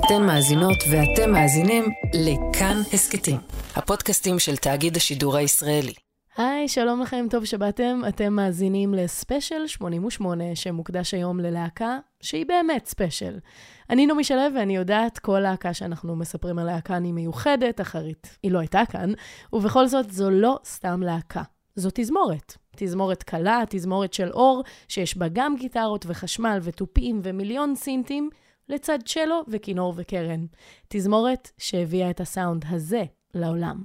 אתן מאזינות ואתם מאזינים לכאן הסקטים, הפודקאסטים של תאגיד השידור הישראלי. היי, שלום לכם, טוב שבאתם. אתם מאזינים לספיישל 88 שמוקדש היום ללהקה שהיא באמת ספיישל. אני נעמי שלו ואני יודעת כל להקה שאנחנו מספרים עליה כאן היא מיוחדת, אחרית היא לא הייתה כאן, ובכל זאת זו לא סתם להקה. זו תזמורת. תזמורת קלה, תזמורת של אור, שיש בה גם גיטרות וחשמל וטופים ומיליון סינטים, לצד צ'לו וכינור וקרן. תזמורת שהביאה את הסאונד הזה לעולם.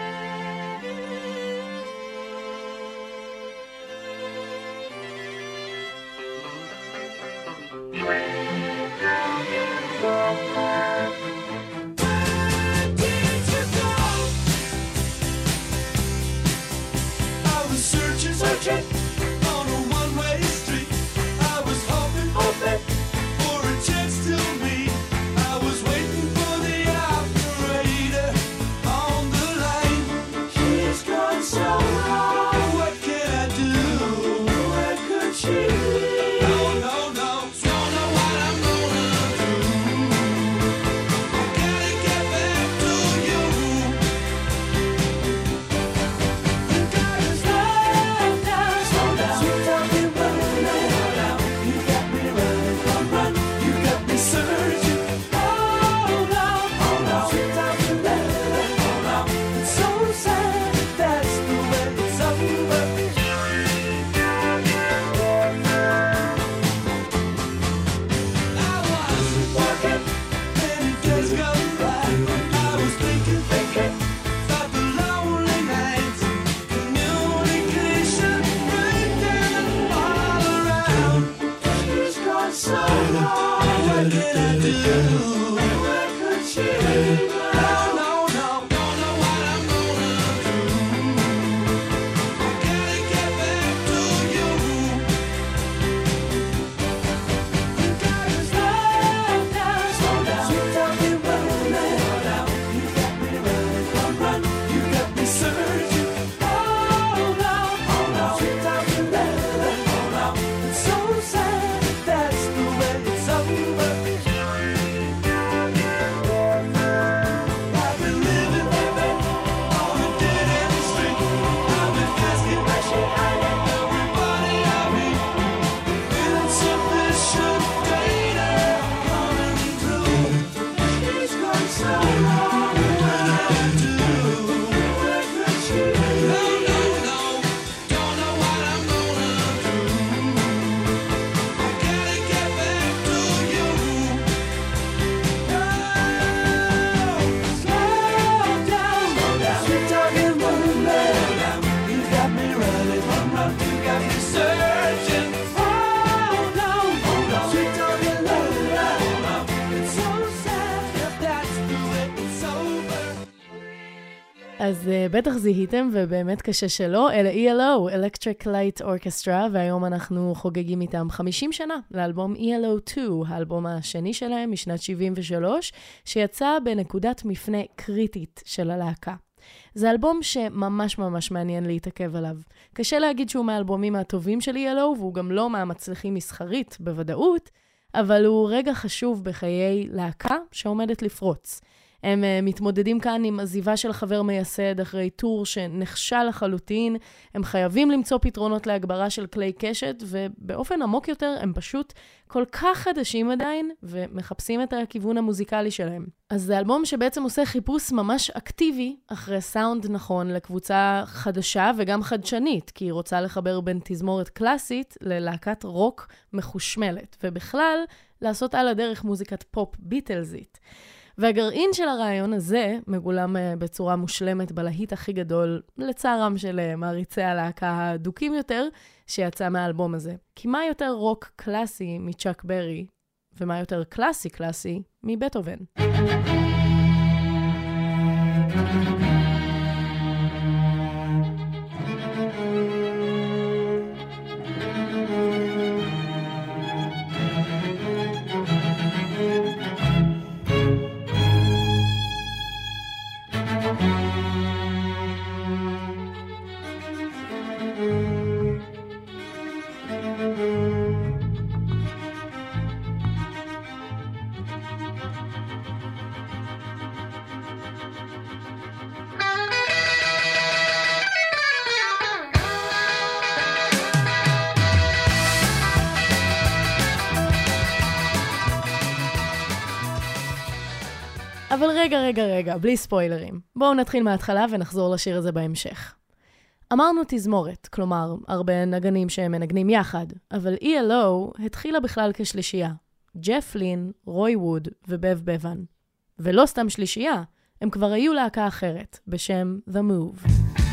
On a one-way street, I was hoping for a chance to meet. I was waiting for the operator on the line. She's gone so long. What can I do? Where could she be? No, don't know what I'm gonna do. Gotta get back to you. You gotta slow down. Sweet talking running. You got me running, run. You got me searching. Hold on. Sweet talking running. It's so sad. That's the way it's over. I was walking, many days gone by. I was thinking about the lonely nights, communication breaking all around. She's gone so long. What can I do? Where could she be? No, don't know what I'm gonna do. Gotta get back to you. You gotta slow down. Sweet talking running. You got me running, run. You got me searching. Hold on. Sweet talking running. It's so sad. That's the way it's over. I've been living on a dead-end street. I've been asking everybody I meet. Insufficient data coming through. She's gone so long. What can I do? Where could she be? No. Don't know what I'm gonna do. Gotta get back to you. Slow down. Sweet talking running. You got me running, run. You got me searching. Hold on. Sweet talking running. It's so sad. That's the way it's over. אז בטח זיהיתם, ובאמת קשה שלא, אלה ELO, Electric Light Orchestra, והיום אנחנו חוגגים איתם 50 שנה לאלבום ELO 2, האלבום השני שלהם משנת 73, שיצא בנקודת מפנה קריטית של הלהקה. זה אלבום שממש ממש מעניין להתעכב עליו. קשה להגיד שהוא מהאלבומים הטובים של ELO, והוא גם לא מהמצליחים מסחרית בוודאות, אבל הוא רגע חשוב בחיי להקה שעומדת לפרוץ. הם מתמודדים כאן עם עזיבה של חבר מייסד אחרי טור שנחשל לחלוטין, הם חייבים למצוא פתרונות להגברה של כלי קשת, ובאופן עמוק יותר הם פשוט כל כך חדשים עדיין, ומחפשים את הכיוון המוזיקלי שלהם. אז זה אלבום שבעצם עושה חיפוש ממש אקטיבי אחרי סאונד נכון לקבוצה חדשה וגם חדשנית, כי היא רוצה לחבר בין תזמורת קלאסית ללהקת רוק מחושמלת, ובכלל לעשות על הדרך מוזיקת פופ ביטלזית. והגרעין של הרעיון הזה מגולם בצורה מושלמת בלהיט הכי גדול, לצערם של מעריצי הלהקה הדוקים יותר, שיצא מהאלבום הזה. כי מה יותר רוק קלאסי מצ'אק ברי, ומה יותר קלאסי מבטהובן? אבל רגע, בלי ספוילרים. בואו נתחיל מההתחלה ונחזור לשיר הזה בהמשך. אמרנו תזמורת, כלומר, הרבה נגנים שהם מנגנים יחד, אבל ELO התחילה בכלל כשלישייה. ג'ף לין, רוי ווד ובב בבן. ולא סתם שלישייה, הם כבר היו להקה אחרת, בשם The Move.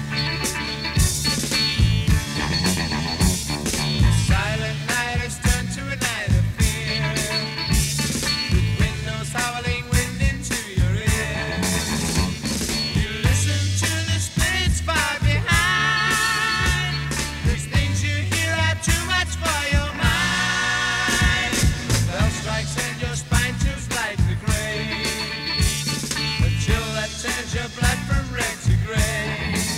Your blood from red to gray.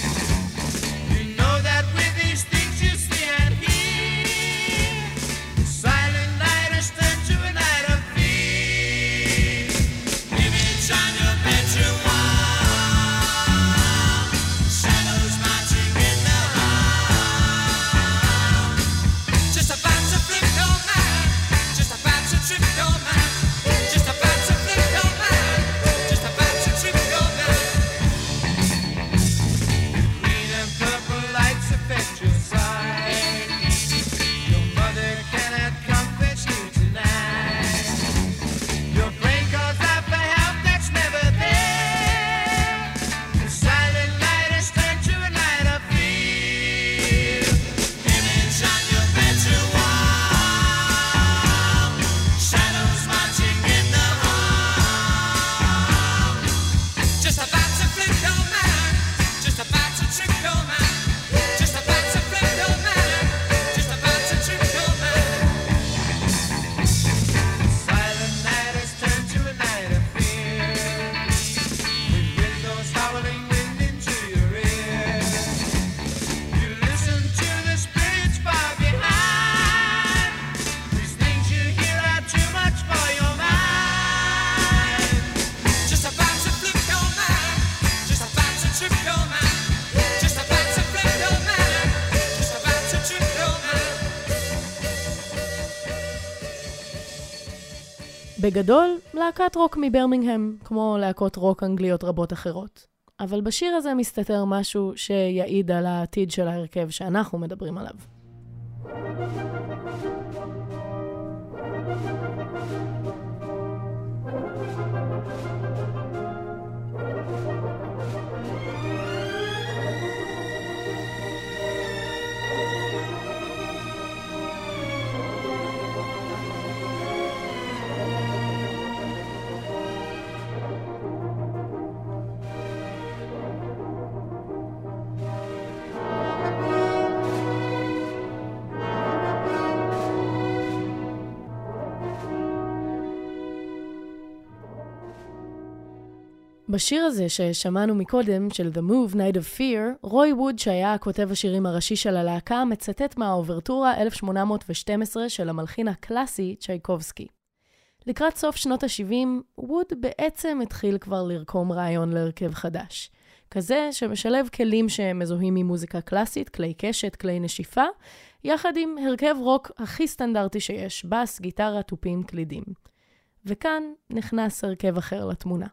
בגדול, להקת רוק מברמינגהם, כמו להקות רוק אנגליות רבות אחרות. אבל בשיר הזה מסתתר משהו שיעיד על העתיד של ההרכב שאנחנו מדברים עליו. בשיר הזה ששמענו מקודם, של The Move, Night of Fear, רוי ווד, שהיה כותב השירים הראשי של הלהקה, מצטט מהאוברטורה 1812 של המלחין הקלאסי צ'ייקובסקי. לקראת סוף שנות ה-70, ווד בעצם התחיל כבר לרקום רעיון להרכב חדש. כזה שמשלב כלים שמזוהים ממוזיקה קלאסית, כלי קשת, כלי נשיפה, יחד עם הרכב רוק הכי סטנדרטי שיש, בס, גיטרה, טופים, קלידים. וכאן נכנס הרכב אחר לתמונה.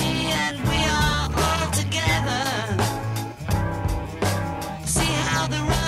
The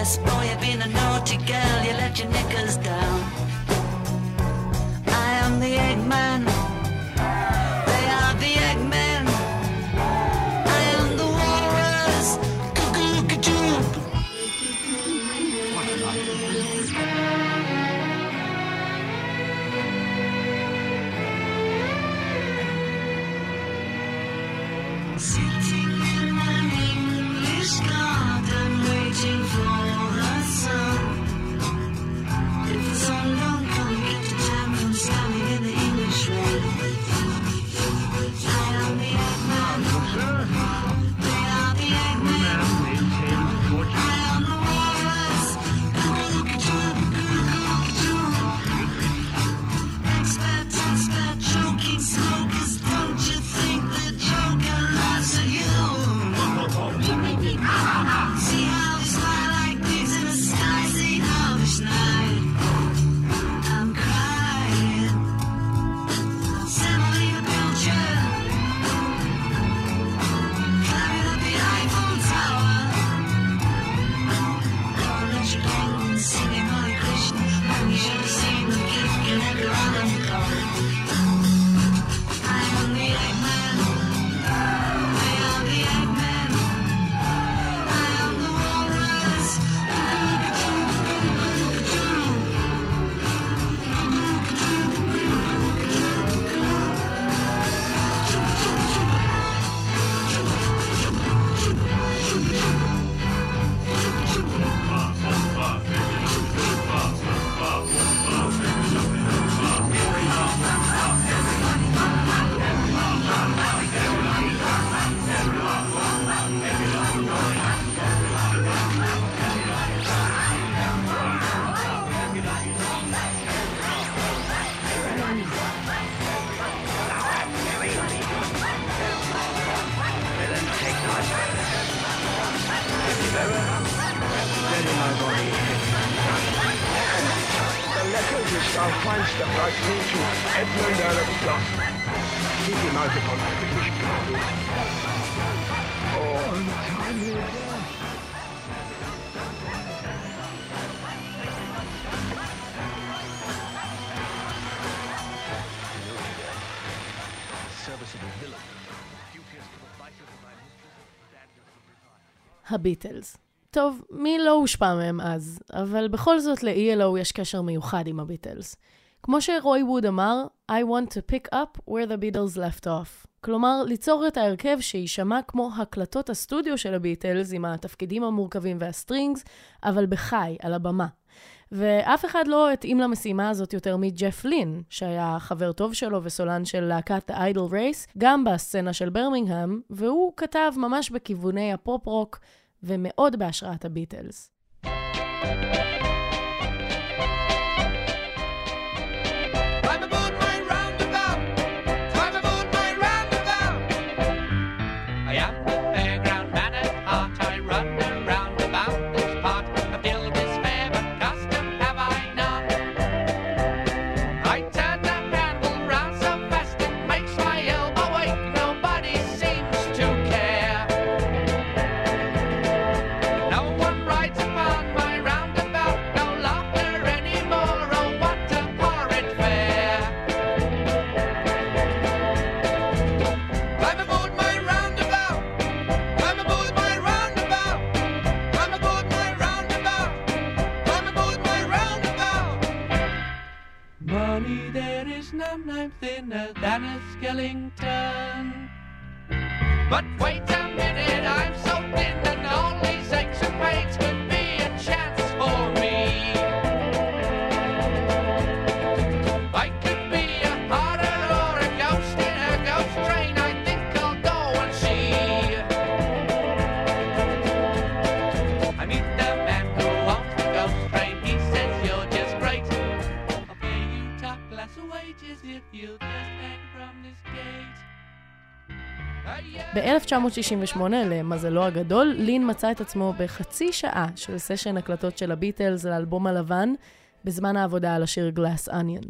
dress. Boy, you've been a naughty girl, you let your knickers down. I am the Eggman. They are the Eggmen. I am the walrus. Cuckoo-ca-choo. Sitting in an English garden, waiting for the sun. If the sun don't come, get the time from standing in the English rain. I am the Eggman. They are the Eggmen. I am the walrus. Expert, choking smokers. Don't you think the Joker laughs at you? See how we smile like pigs in a sky. See how we schneid. I'm crying. Semolina Pilcher. Climbing up the Eiffel Tower. Orange penguins singing Hare Krishna. You should have seen the kid get around the corner. I am the Eggman. I am the Eggman. I am the walrus. The letter which thou find'st of thy to Edmund Earl of Gloucester. Keep him out upon the British ground. Oh, untimely death. Serviceable villain. Duteous to the vices of my mistress. הביטלס. טוב, מי לא הושפע מהם אז, אבל בכל זאת ל-ELO יש קשר מיוחד עם הביטלס. כמו שרוי ווד אמר, I want to pick up where the Beatles left off. כלומר, ליצור את ההרכב שישמע כמו הקלטות הסטודיו של הביטלס עם התפקידים המורכבים והסטרינגס, אבל בחי, על הבמה. ואף אחד לא התאים למשימה הזאת יותר מג'ף לין, שהיה חבר טוב שלו וסולן של להקת The Idle Race, גם בסצנה של ברמינגהאם, והוא כתב ממש בכיווני הפופ-רוק, ומאוד בהשראת הביטלס. But wait a minute, I'm so thin and all these aches and pains could be a chance for me. I could be a harder or a ghost in a ghost train. I think I'll go and see. I meet the man who owns the ghost train. He says you're just great. I'll pay you top class wages if you'll just hang from this gate. ב-1968, למזלו הגדול, לין מצא את עצמו בחצי שעה של סשן הקלטות של הביטלס לאלבום הלבן, בזמן העבודה על השיר Glass Onion.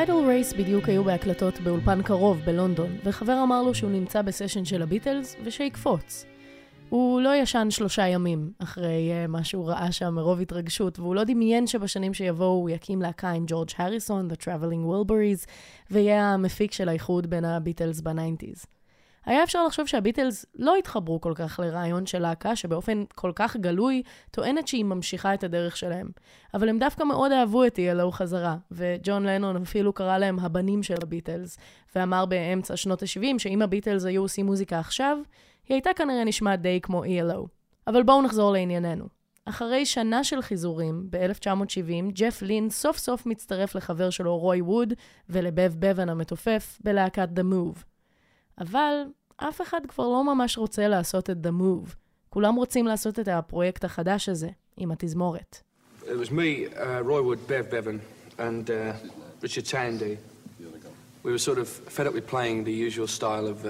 טיידל רייס בדיוק היו בהקלטות באולפן קרוב בלונדון, וחבר אמר לו שהוא נמצא בסשן של הביטלס ושיקפוץ. הוא לא ישן 3 ימים אחרי מה שהוא ראה שם מרוב התרגשות, והוא לא דמיין שבשנים שיבואו הוא יקים להקה עם ג'ורג' הריסון, The Traveling Wilburys, ויהיה המפיק של האיחוד בין הביטלס ב-90s. היה אפשר לחשוב שהביטלס לא התחברו כל כך לרעיון של להקה שבאופן כל כך גלוי טוענת שהיא ממשיכה את הדרך שלהם. אבל הם דווקא מאוד אהבו את ELO חזרה, וג'ון לנון אפילו קרא להם הבנים של הביטלס, ואמר באמצע שנות ה-70 שאם הביטלס היו עושים מוזיקה עכשיו, היא הייתה כנראה נשמעת די כמו ELO. אבל בואו נחזור לענייננו. אחרי שנה של חיזורים, ב-1970, ג'ף לין סוף סוף מצטרף לחבר שלו רוי ווד ולבב בבן המתופף בלהקת The Move. אבל אף אחד כבר לא ממש רוצה לעשות את The Move. כולם רוצים לעשות את הפרויקט החדש הזה, עם התזמורת. It was me, Roy Wood, Bev Bevan, and Richard Tandy. We were sort of fed up with playing the usual style of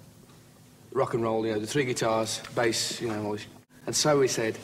rock and roll, you know, the 3 guitars, bass, you know, all this. And so we said,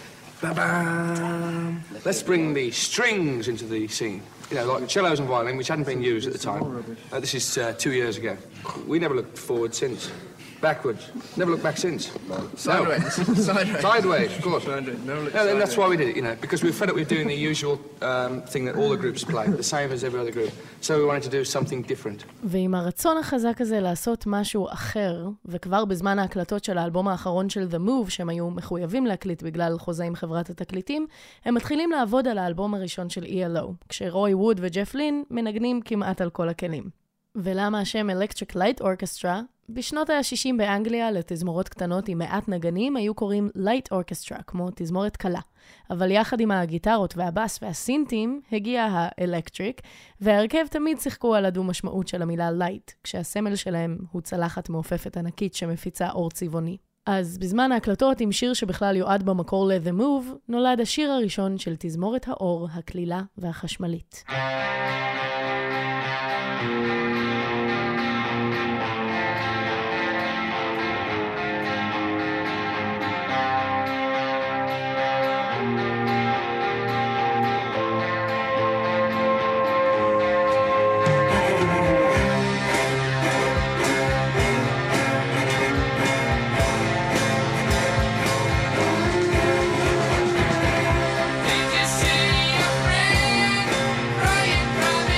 ba-bam, let's bring the strings into the scene. You know, like the cellos and violin, which hadn't been used at the time. This is 2 years ago. We never looked forward since. Backwards. Never looked back since. Sideways. Sideways. Sideways, of course. Sideways. Never looked No, and that's sideways. why we did it, you know, because we were fed up with doing the usual thing that all the groups play, the same as every other group. So we wanted to do something different. ועם הרצון החזק הזה לעשות משהו אחר, וכבר בזמן ההקלטות של האלבום האחרון של The Move, שהם היו מחויבים להקליט בגלל חוזה עם חברת התקליטים, הם מתחילים לעבוד על האלבום הראשון של ELO, כשרוי ווד וג'ף לין מנגנים כמעט על כל הכלים. ולמה השם Electric Light Orchestra? בשנות ה-60 באנגליה לתזמורות קטנות עם מעט נגנים היו קוראים Light Orchestra, כמו תזמורת קלה. אבל יחד עם הגיטרות והבאס והסינטים הגיע ה-Electric, וההרכב תמיד שיחקו על הדו משמעות של המילה Light, כשהסמל שלהם הוא צלחת מעופפת ענקית שמפיצה אור צבעוני. אז בזמן ההקלטות עם שיר שבכלל יועד במקור ל-The Move, נולד השיר הראשון של תזמורת האור, הכלילה והחשמלית. Did you see your friend crying from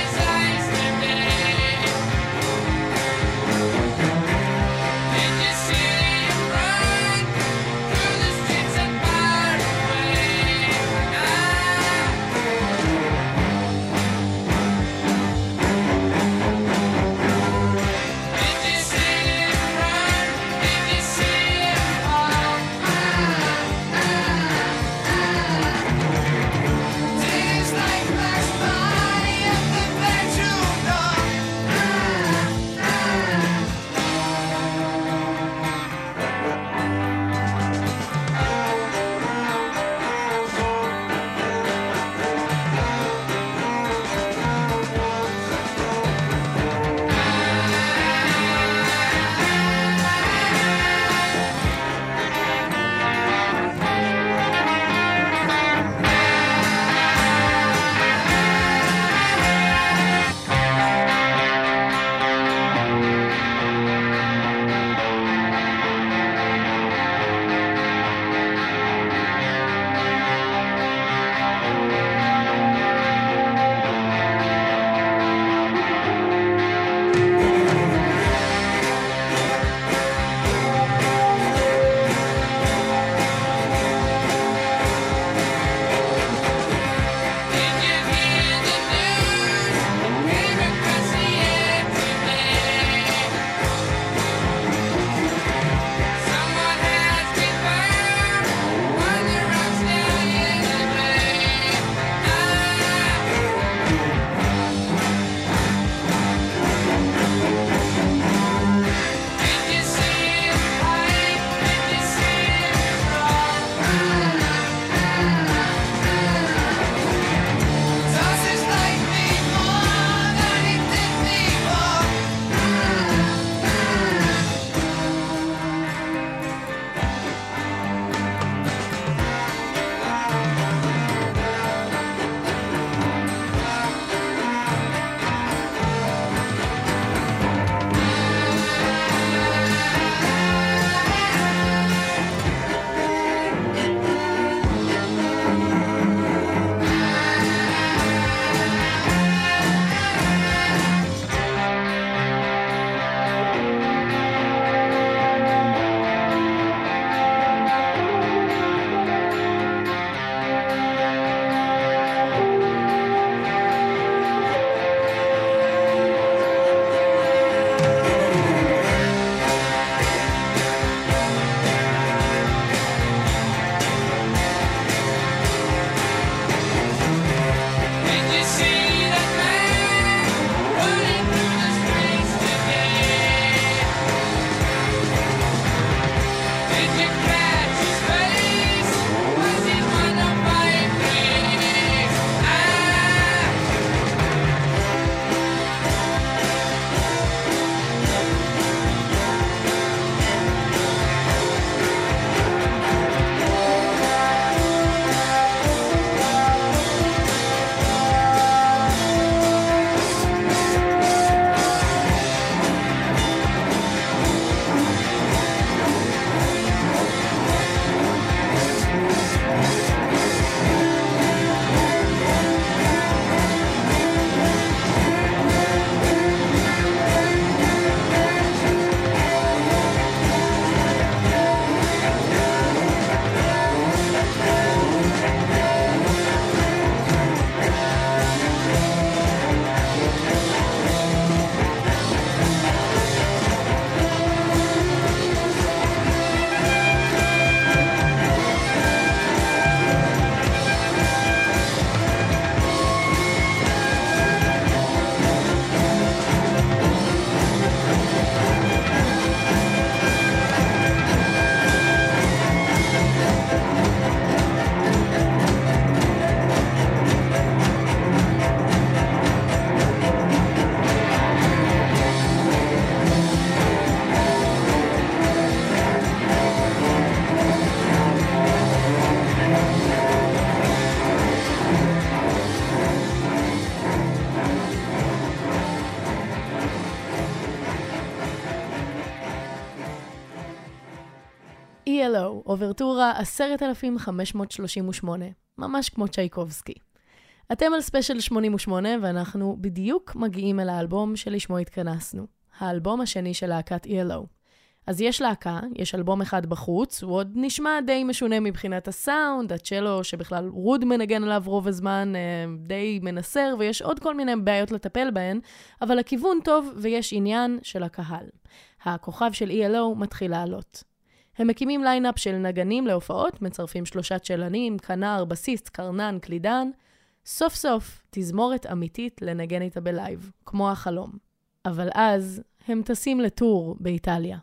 ELO, אוברטורה 10,538, ממש כמו צ'ייקובסקי. אתם על ספיישל 88 ואנחנו בדיוק מגיעים אל האלבום שלשמו התכנסנו, האלבום השני של להקת ELO. אז יש להקה, יש אלבום אחד בחוץ, הוא עוד נשמע די משונה מבחינת הסאונד, הצ'לו שבכלל רוד מנגן עליו רוב הזמן, די מנסר, ויש עוד כל מיני בעיות לטפל בהן, אבל הכיוון טוב ויש עניין של הקהל. הכוכב של ELO מתחיל לעלות. הם מקימים ליינאפ של נגנים להופעות, מצרפים 3 צ'לנים, כנר, בסיסט, קרנן, קלידן. סוף סוף תזמורת אמיתית לנגן איתה בלייב, כמו החלום. אבל אז הם טסים לטור באיטליה.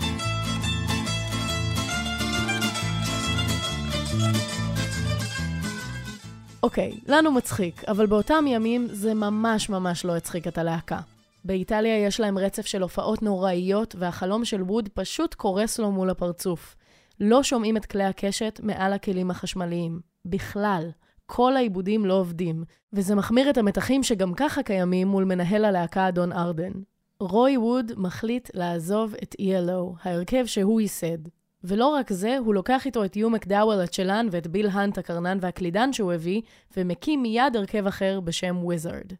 אוקיי, לנו מצחיק, אבל באותם ימים זה ממש ממש לא הצחיק את הלהקה. באיטליה יש להם רצף של הופעות נוראיות, והחלום של ווד פשוט קורס לו מול הפרצוף. לא שומעים את כלי הקשת מעל הכלים החשמליים. בכלל, כל העיבודים לא עובדים, וזה מחמיר את המתחים שגם ככה קיימים מול מנהל הלהקה אדון ארדן. רוי ווד מחליט לעזוב את ELO, ההרכב שהוא ייסד. ולא רק זה, הוא לוקח איתו את יו מקדאוול הצ'לן ואת ביל הנט הקרנן והקלידן שהוא הביא, ומקים מיד הרכב אחר בשם וויזרד.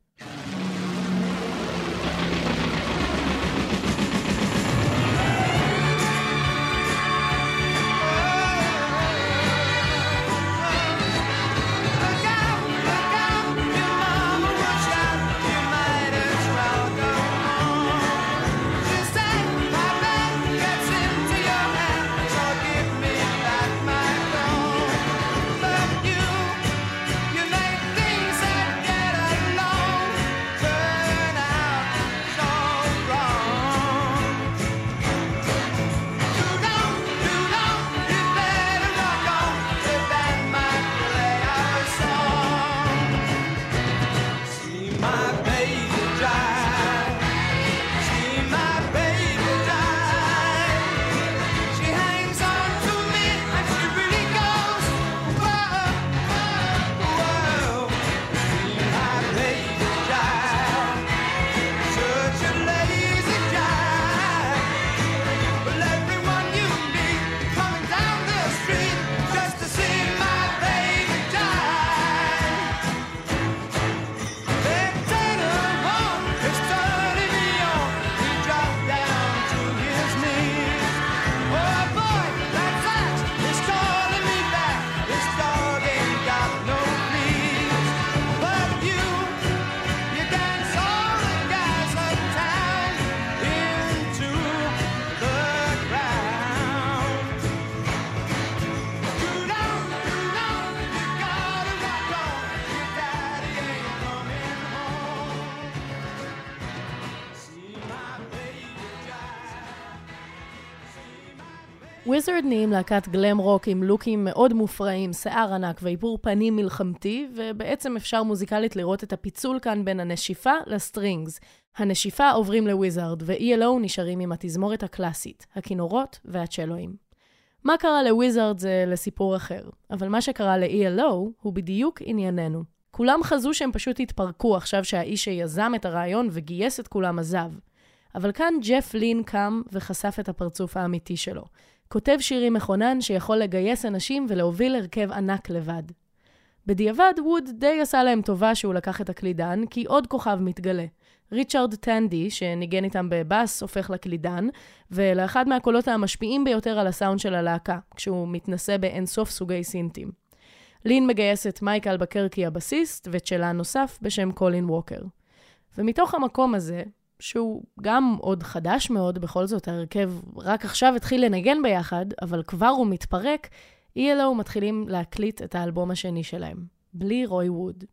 וויזרד נהיים להקת גלם רוק עם לוקים מאוד מופרעים, שיער ענק ואיפור פנים מלחמתי, ובעצם אפשר מוזיקלית לראות את הפיצול כאן בין הנשיפה לסטרינגס. הנשיפה עוברים לוויזרד, ו-ELO נשארים עם התזמורת הקלאסית, הכינורות והצ'לואים. מה קרה לוויזרד זה לסיפור אחר, אבל מה שקרה ל-ELO הוא בדיוק ענייננו. כולם חזו שהם פשוט התפרקו עכשיו שהאיש שיזם את הרעיון וגייס את כולם עזב. אבל כאן ג'ף לין קם וחשף את הפרצוף האמיתי שלו. כותב שירים מכונן שיכול לגייס אנשים ולהוביל הרכב ענק לבד. בדיעבד, ווד די עשה להם טובה שהוא לקח את הקלידן, כי עוד כוכב מתגלה. ריצ'רד טנדי, שניגן איתם בבאס, הופך לקלידן, ולאחד מהקולות המשפיעים ביותר על הסאונד של הלהקה, כשהוא מתנסה באינסוף סוגי סינטים. לין מגייס את מייקל בקרקי הבסיסט, וצ'לן נוסף בשם קולין ווקר. ומתוך המקום הזה, שהוא גם עוד חדש מאוד, בכל זאת ההרכב רק עכשיו התחיל לנגן ביחד, אבל כבר הוא מתפרק, ELO מתחילים להקליט את האלבום השני שלהם, בלי רוי ווד.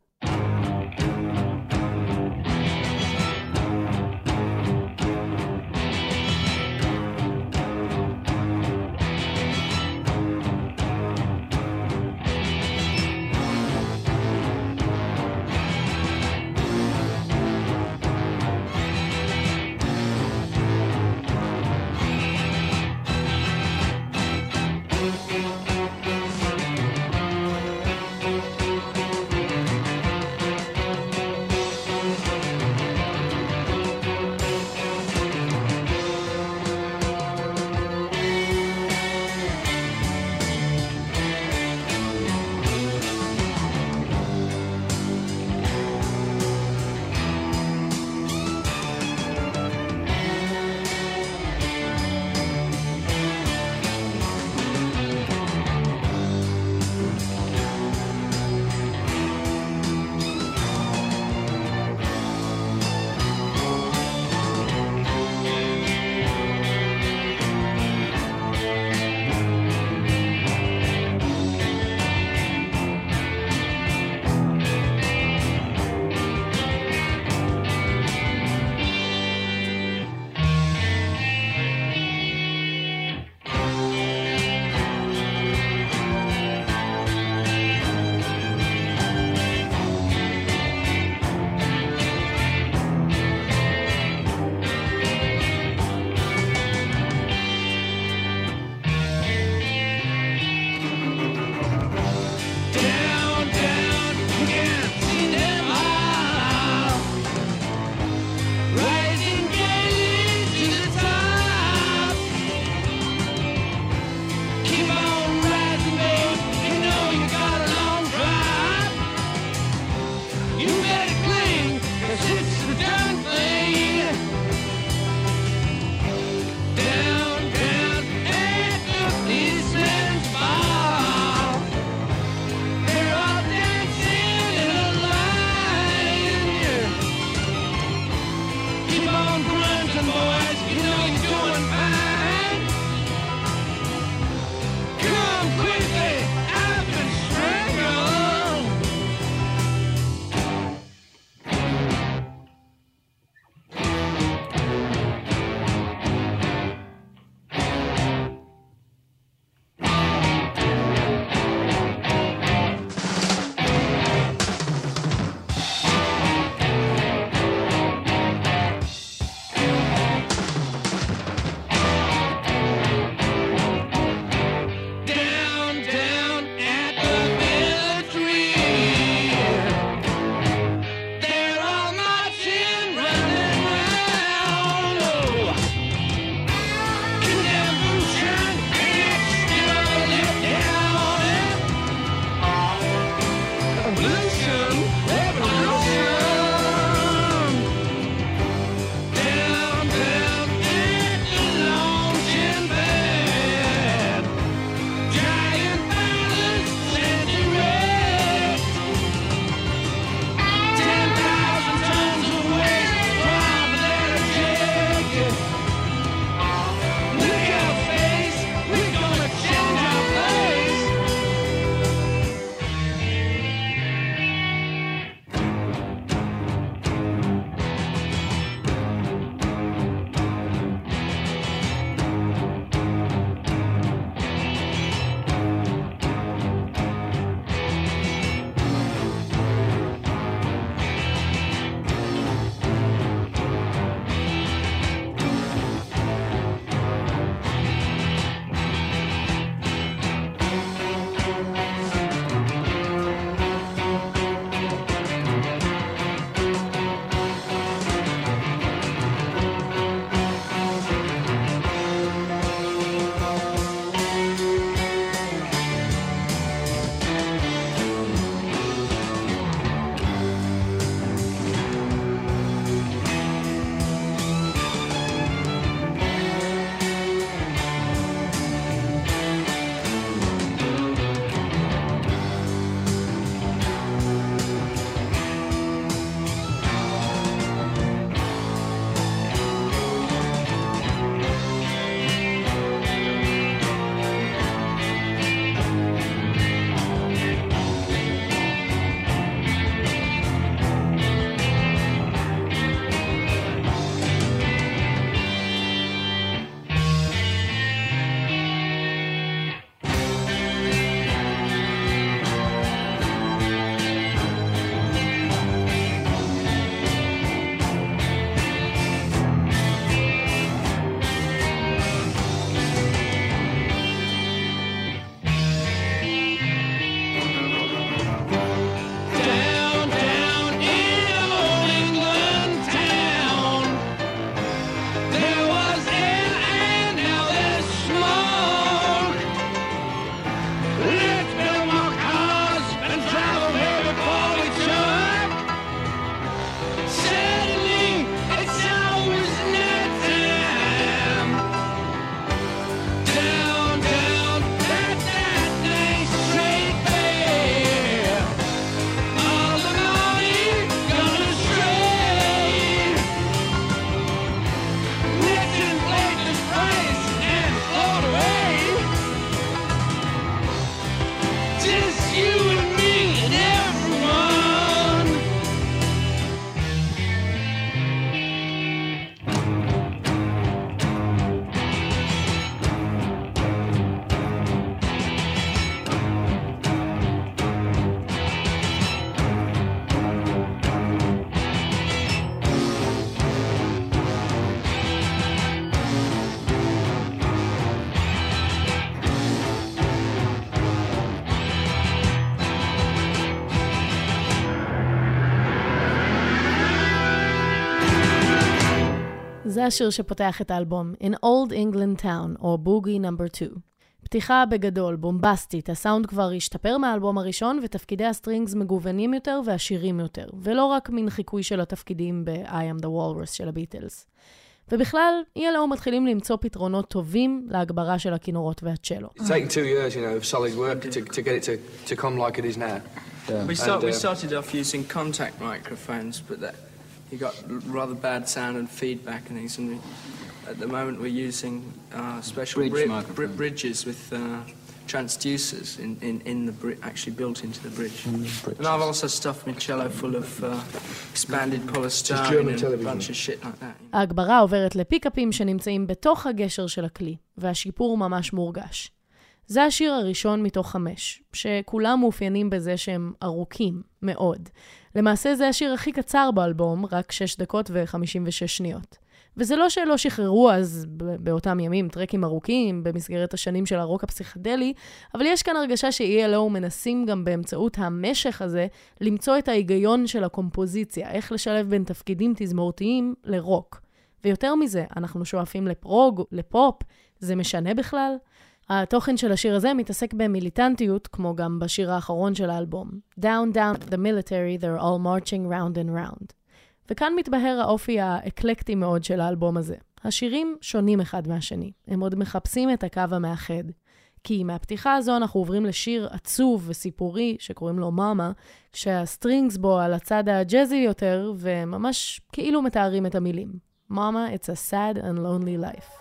זה השיר שפותח את האלבום, In Old England Town, או Boogie No. 2. פתיחה בגדול, בומבסטית, הסאונד כבר השתפר מהאלבום הראשון, ותפקידי הסטרינגס מגוונים יותר ועשירים יותר, ולא רק מן חיקוי של התפקידים ב-I Am The Walrus של הביטלס. ובכלל, ELO מתחילים למצוא פתרונות טובים להגברה של הכינורות והצ'לו. It's taken 2 years, you know, of solid work to get it to come like it is now. We started off using contact microphones, but you got rather bad sound and feedback and things. And at the moment, we're using special bridges with transducers actually built into the bridge. And I've also stuffed my cello full of expanded polystyrene and a bunch of shit like that. ההגברה עוברת לפיקאפים שנמצאים בתוך הגשר של הכלי, והשיפור ממש מורגש. זה השיר הראשון מתוך 5, שכולם מאופיינים בזה שהם ארוכים מאוד. למעשה זה השיר הכי קצר באלבום, רק 6 דקות ו-56 שניות. וזה לא שלא שחררו אז באותם ימים טרקים ארוכים במסגרת השנים של הרוק הפסיכדלי, אבל יש כאן הרגשה ש-ELO מנסים גם באמצעות המשך הזה למצוא את ההיגיון של הקומפוזיציה, איך לשלב בין תפקידים תזמורתיים לרוק. ויותר מזה, אנחנו שואפים לפרוג, לפופ, זה משנה בכלל? התוכן של השיר הזה מתעסק במיליטנטיות, כמו גם בשיר האחרון של האלבום. Down, down, the military, they're all marching round and round. וכאן מתבהר האופי האקלקטי מאוד של האלבום הזה. השירים שונים אחד מהשני. הם עוד מחפשים את הקו המאחד. כי מהפתיחה הזו אנחנו עוברים לשיר עצוב וסיפורי שקוראים לו מאמה, שהסטרינגס בו על הצד הג'אזי יותר, וממש כאילו מתארים את המילים. מאמה, it's a sad and lonely life.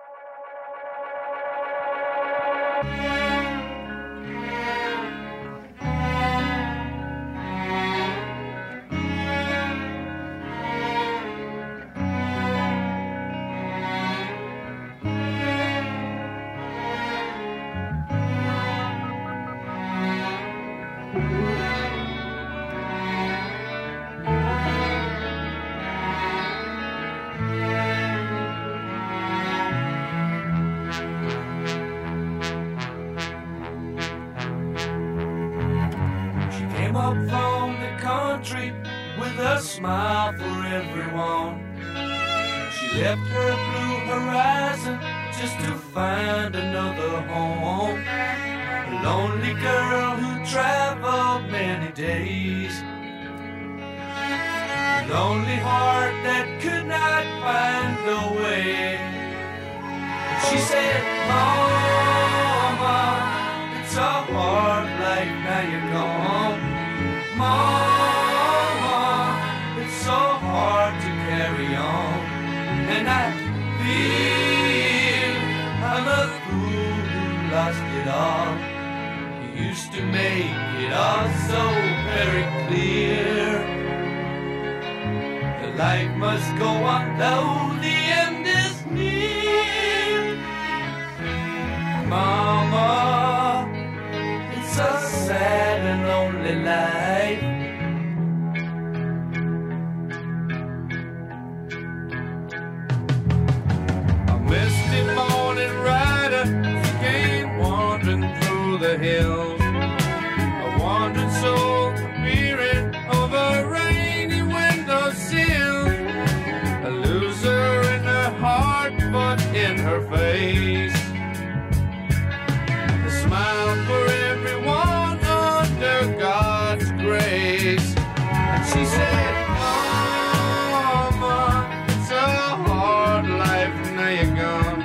Up from the country with a smile for everyone. She left her blue horizon just to find another home. A lonely girl who traveled many days. A lonely heart that could not find the way. She said, Mama, it's a hard life, now you're gone. Mama, it's so hard to carry on. And I feel I'm a fool who lost it all. You used to make it all so very clear. The life must go on though the end is near. Mama, it's a sad and lonely life. A misty morning rider came wandering through the hills. A wandering soul peering over rainy windowsill. A loser in her heart but in her face. A smile for everyone under God's grace. And she said, Mama, it's a hard life, now you're gone.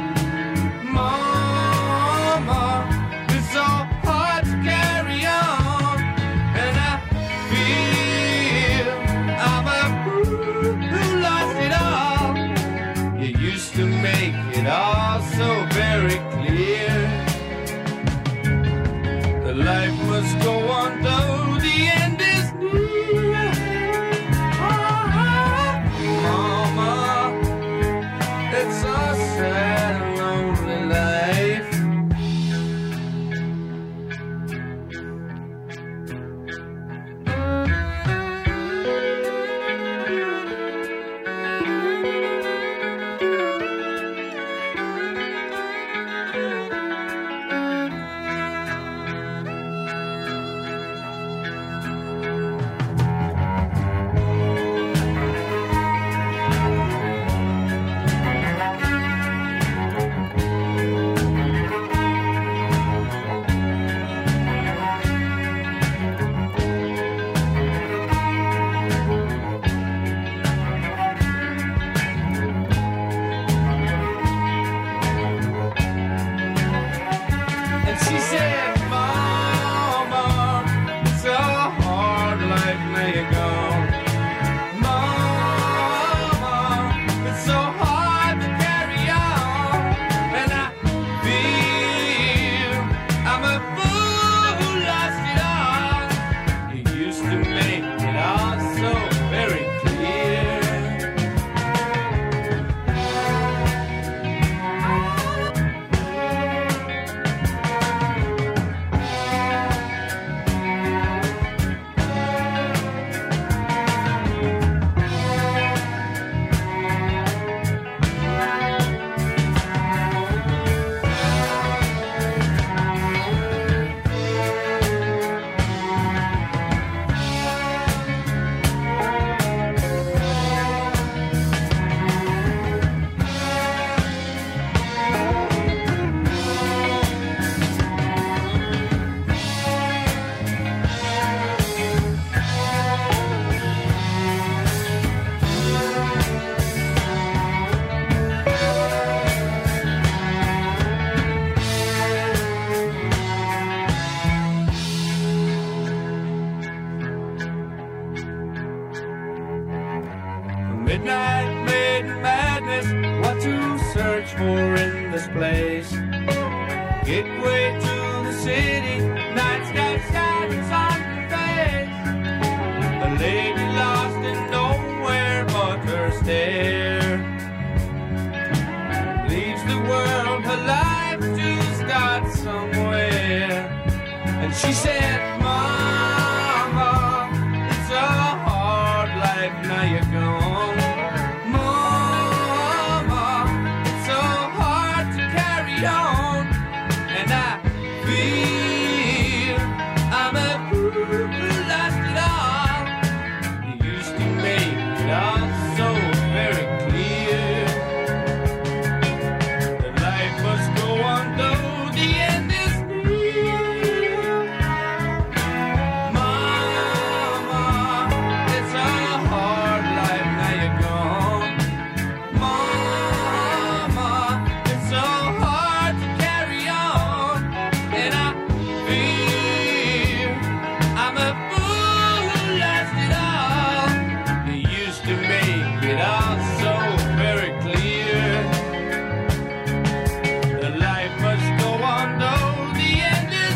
Mama, it's so hard to carry on. And I feel I'm a fool who lost it all. You used to make it all so very clear. The life must go on though the end is near. Mama, it's a sad and lonely life. search for in this place. Gateway to the city, night sky shadows on your face. The lady lost in nowhere but her stare. Leaves the world, her life to start somewhere. And she said, Mama, it's a hard life, now you're gone. Mama, it's so hard to carry on. And I feel I'm a fool who lost it all. You used to make it all so very clear. That life must go on though the end is near. Mama, it's a hard life, now you're gone. Mama, it's so hard to carry on. And I feel I'm a fool who lost it all. You used to make it all so very clear. The life must go on though the end is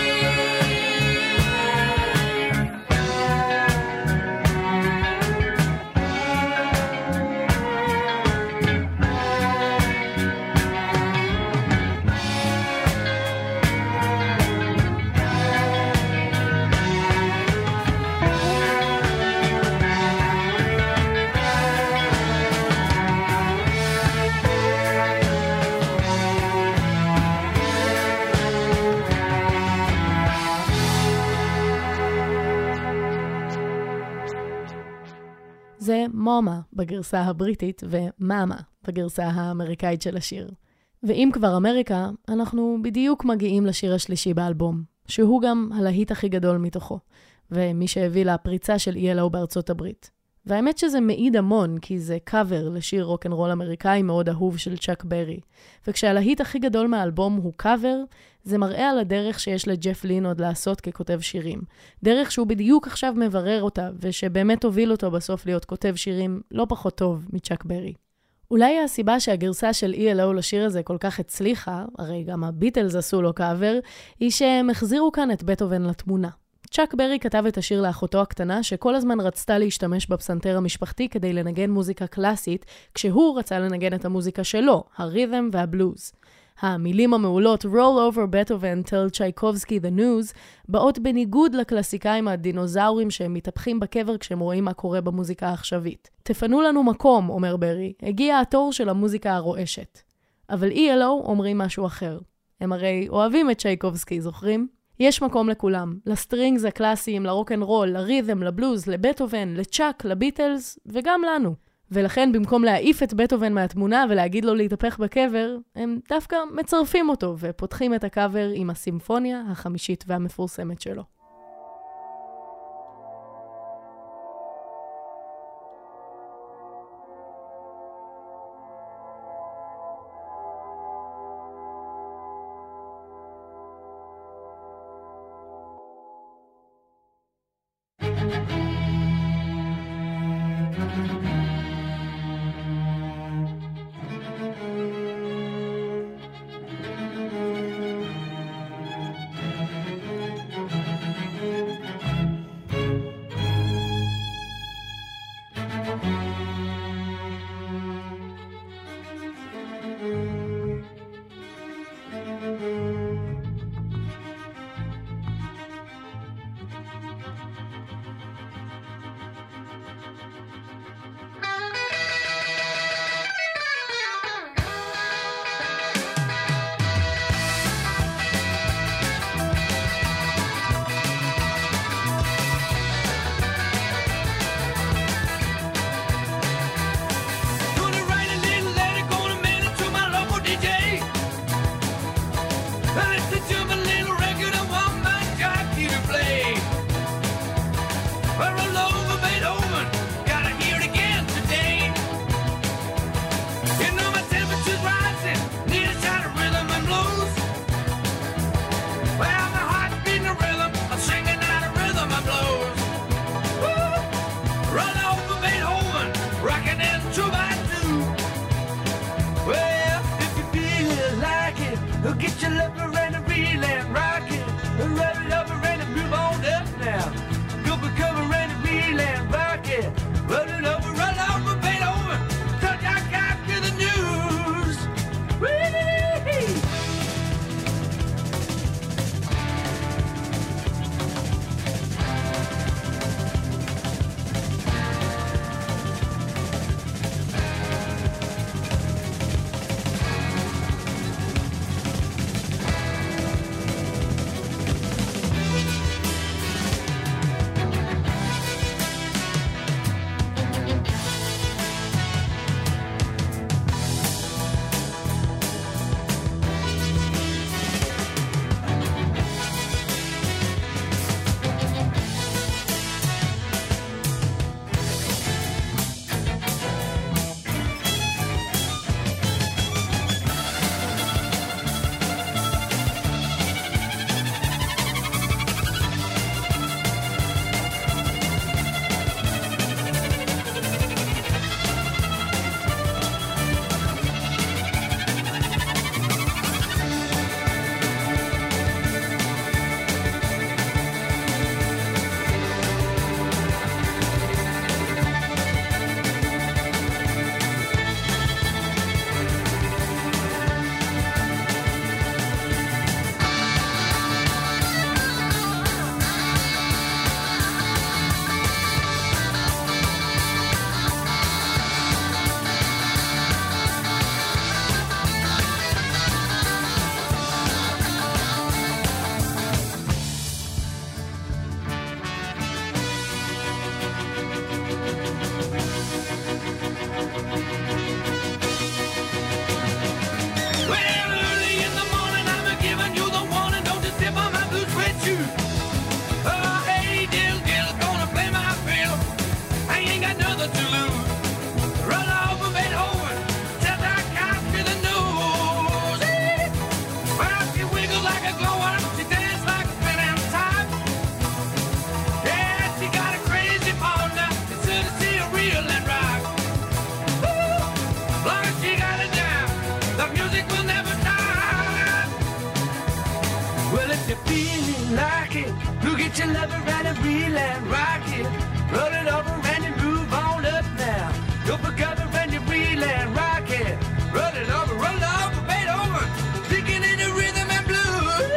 זה מומה בגרסה הבריטית ומאמה בגרסה האמריקאית של השיר. ואם כבר אמריקה, אנחנו בדיוק מגיעים לשיר השלישי באלבום, שהוא גם הלהיט הכי גדול מתוכו, ומי שהביא לפריצה של ELO בארצות הברית. והאמת שזה מעיד המון, כי זה קאבר לשיר רוק'נ'רול אמריקאי מאוד אהוב של צ'אק ברי. וכשהלהיט הכי גדול מהאלבום הוא קאבר, זה מראה על הדרך שיש לג'ף לין עוד לעשות ככותב שירים. דרך שהוא בדיוק עכשיו מברר אותה, ושבאמת הוביל אותו בסוף להיות כותב שירים לא פחות טוב מצ'אק ברי. אולי הסיבה שהגרסה של ELO לשיר הזה כל כך הצליחה, הרי גם הביטלס עשו לו קאבר, היא שהם החזירו כאן את בטהובן לתמונה. צ'אק ברי כתב את השיר לאחותו הקטנה, שכל הזמן רצתה להשתמש בפסנתר המשפחתי כדי לנגן מוזיקה קלאסית, כשהוא רצה לנגן את המוזיקה שלו, הרית'ם והבלוז. המילים המעולות Roll over Beethoven, tell Tchaikovsky the news, באות בניגוד לקלאסיקאים הדינוזאורים שהם מתהפכים בקבר כשהם רואים מה קורה במוזיקה העכשווית. תפנו לנו מקום, אומר ברי, הגיע התור של המוזיקה הרועשת. אבל ELO אומרים משהו אחר. הם הרי אוהבים את צ'ייקובסקי, זוכרים? יש מקום לכולם, לסטרינגס הקלאסיים, לרוק'נ'רול, לרית'ם, לבלוז, לבטהובן, לצ'אק, לביטלס וגם לנו. ולכן במקום להעיף את בטהובן מהתמונה ולהגיד לו להתהפך בקבר, הם דווקא מצרפים אותו ופותחים את הקאבר עם הסימפוניה החמישית והמפורסמת שלו. get your lover and a reel and rock it. Rub it over and move on up now. Go for cover and a reel and rock it. Roll it over, roll over, bend over. Touch I got to the news. Whee! Get your lover and a reel and rock it. Roll it over and you move on up now. Go for cover and you reel and rock it. Roll it over, bend over. Digging in the rhythm and blues.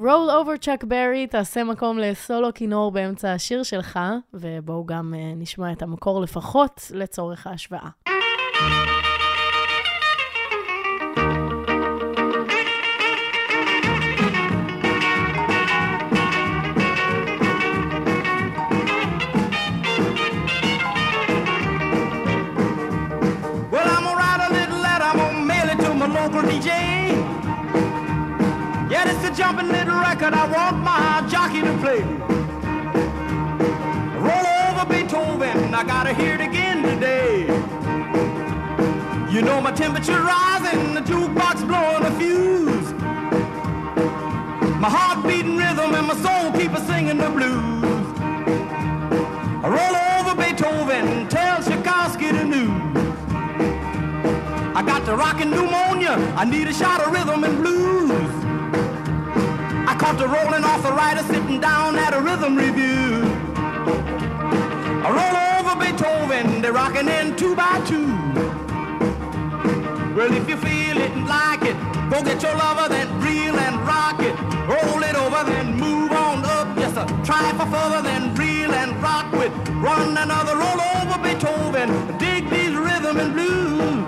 Roll over צ'אק ברי, תעשה מקום לסולו כינור באמצע השיר שלך, ובואו גם נשמע את המקור לפחות לצורך ההשוואה. Well, I'm gonna write a little letter, I'm gonna mail it to my local DJ. Yeah, it's a jumping little record I want my jockey to play. Roll over Beethoven, I gotta hear it again today. You know my temperature rising, the jukebox blowing a fuse. My heart beating rhythm and my soul keep a singing the blues. Roll over Beethoven, tell Tchaikovsky the news. I got the rockin' pneumonia, I need a shot of rhythm and blues. I caught the rolling arthritis sitting down at a rhythm review. I roll over Beethoven, they're rocking in 2 by 2. Well, if you feel it and like it, go get your lover, then reel and rock it. Roll it over, then move on up. Yes, sir. Try for further, then reel and rock with. Run another roll over Beethoven. Dig these rhythm and blues.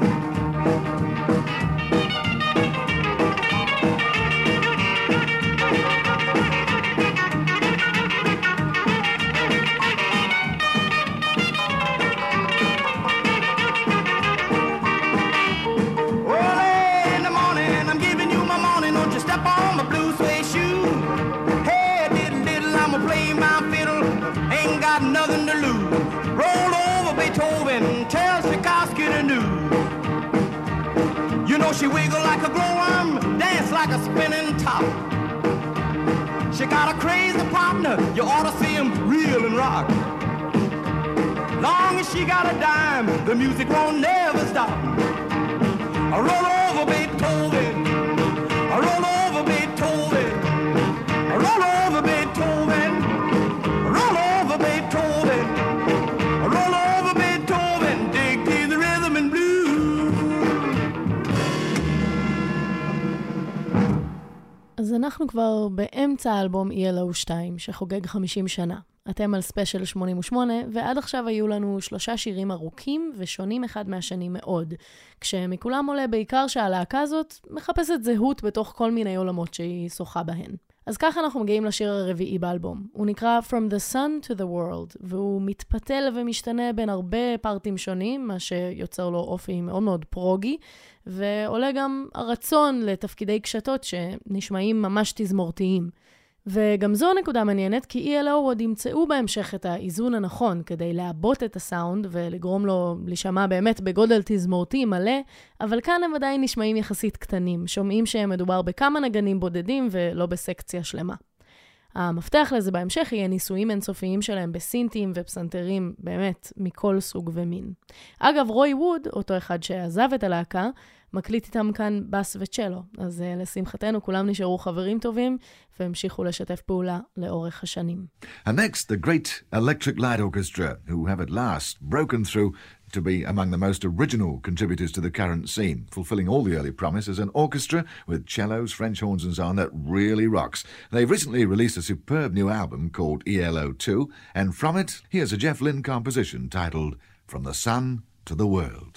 Nothing to lose. Roll over Beethoven, tell Tchaikovsky the news. You know she wiggle like a glowworm, dance like a spinning top. She got a crazy partner, you ought to see him reel and rock. Long as she got a dime, the music won't never stop. I roll over Beethoven, I roll over Beethoven, I roll over Beethoven. Roll over Beethoven, roll over Beethoven, dig to the rhythm and blues. אז אנחנו כבר באמצע האלבום ELO 2, שחוגג 50 שנה. אתם על ספיישל 88, ועד עכשיו היו לנו 3 שירים ארוכים ושונים אחד מהשני מאוד, כשמכולם עולה בעיקר שהלהקה הזאת מחפשת זהות בתוך כל מיני עולמות שהיא שוחה בהן. אז ככה אנחנו מגיעים לשיר הרביעי באלבום. הוא נקרא From the Sun to the World, והוא מתפתל ומשתנה בין הרבה פרטים שונים, מה שיוצר לו אופי מאוד מאוד פרוגי, ועולה גם הרצון לתפקידי קשתות שנשמעים ממש תזמורתיים. וגם זו נקודה מעניינת, כי ELO עוד ימצאו בהמשך את האיזון הנכון כדי לעבות את הסאונד ולגרום לו להישמע באמת בגודל תזמורתי מלא, אבל כאן הם עדיין נשמעים יחסית קטנים, שומעים שהם מדובר בכמה נגנים בודדים ולא בסקציה שלמה. המפתח לזה בהמשך יהיה ניסויים אינסופיים שלהם בסינטים ופסנתרים באמת מכל סוג ומין. אגב, רוי ווד, אותו אחד שעזב את הלהקה, מקליט איתם כאן בס וצ'לו, אז לשמחתנו כולם נשארו חברים טובים והמשיכו לשתף פעולה לאורך השנים. And next, the great Electric Light Orchestra, who have at last broken through to be among the most original contributors to the current scene, fulfilling all the early promise as an orchestra with cellos, French horns and so on that really rocks. They've recently released a superb new album called ELO 2, and from it, here's a Jeff Lynne composition titled From the Sun to the World.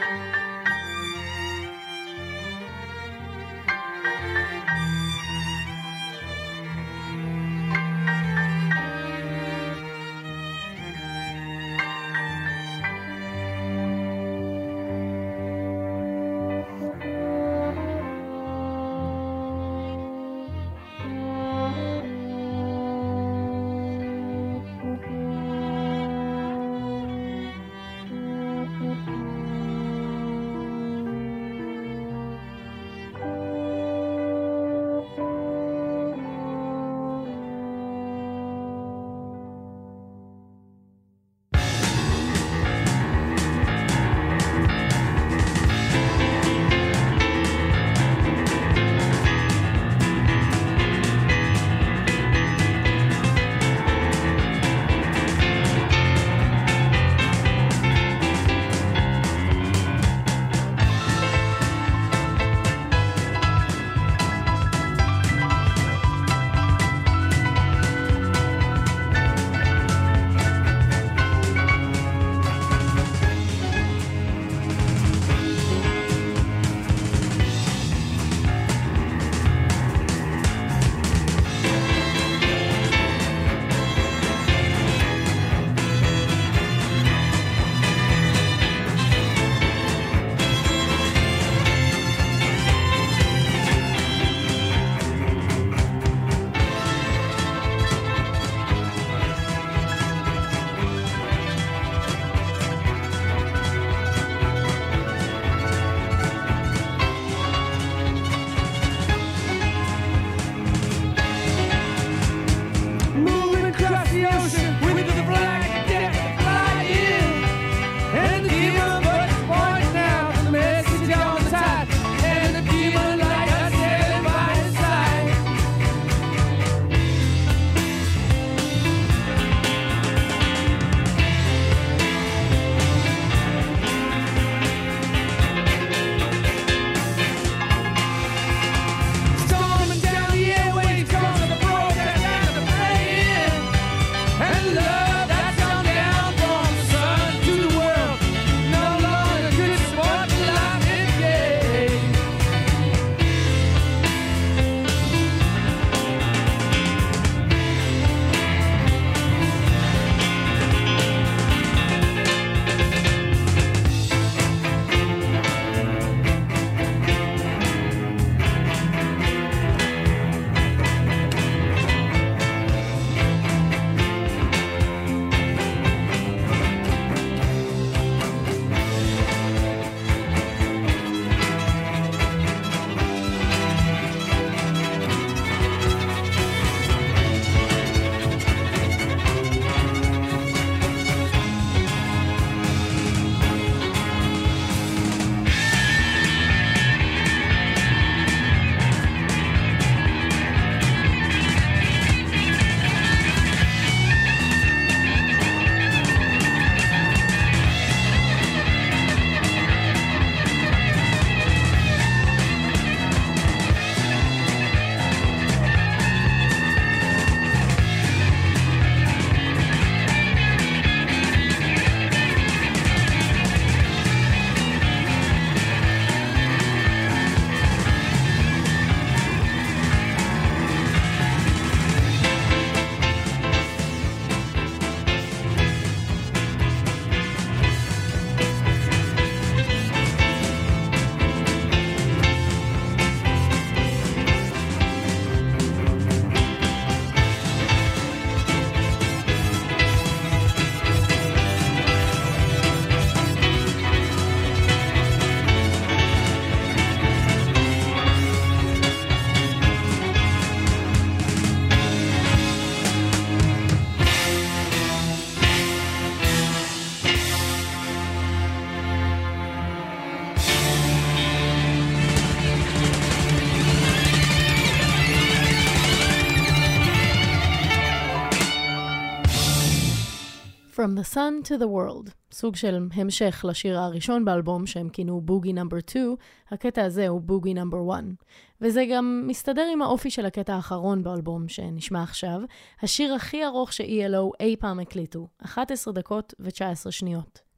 From the Sun to the World, סוג של המשך לשיר הראשון באלבום שהם כינו בוגי נאמבר 2, הקטע הזה הוא בוגי נאמבר 1. וזה גם מסתדר עם האופי של הקטע האחרון באלבום שנשמע עכשיו, השיר הכי ארוך ש-ELO אי פעם הקליטו, 11 דקות ו-19 שניות.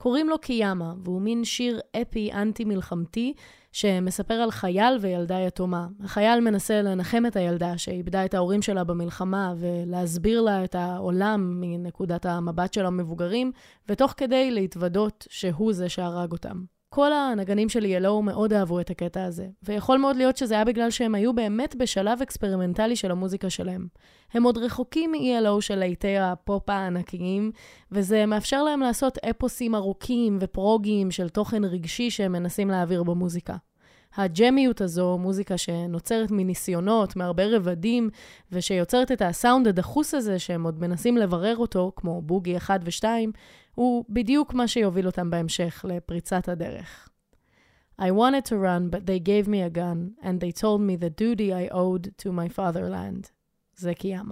קוראים לו קיאמה, והוא מין שיר אפי אנטי-מלחמתי שמספר על חייל וילדה יתומה. החייל מנסה לנחם את הילדה שאיבדה את ההורים שלה במלחמה ולהסביר לה את העולם מנקודת המבט של המבוגרים, ותוך כדי להתוודות שהוא זה שהרג אותם. כל הנגנים של ELO מאוד אהבו את הקטע הזה, ויכול מאוד להיות שזה היה בגלל שהם היו באמת בשלב אקספרימנטלי של המוזיקה שלהם. הם עוד רחוקים מ-ELO של להיטי הפופ הענקיים, וזה מאפשר להם לעשות אפוסים ארוכים ופרוגיים של תוכן רגשי שהם מנסים להעביר במוזיקה. הג'מיות הזו, מוזיקה שנוצרת מניסיונות, מהרבה רבדים, ושיוצרת את הסאונד הדחוס הזה שהם עוד מנסים לברר אותו, כמו בוגי 1 ו-2, הוא בדיוק מה שיוביל אותם בהמשך לפריצת הדרך. I wanted to run, but they gave me a gun, and they told me the duty I owed to my fatherland. זה קיאמה.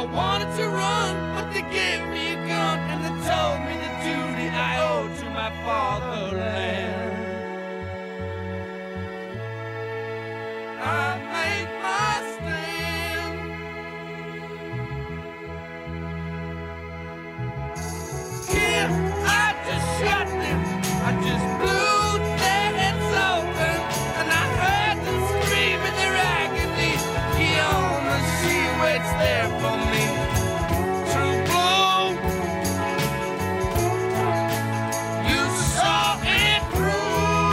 wanted to run, but they gave me a gun and they told me the duty I owe to my fatherland. I made my stand. Here I just shot them, I just blew their heads open, and I heard them scream in their agony. Kiona, she waits there for me. True blue, you saw it through.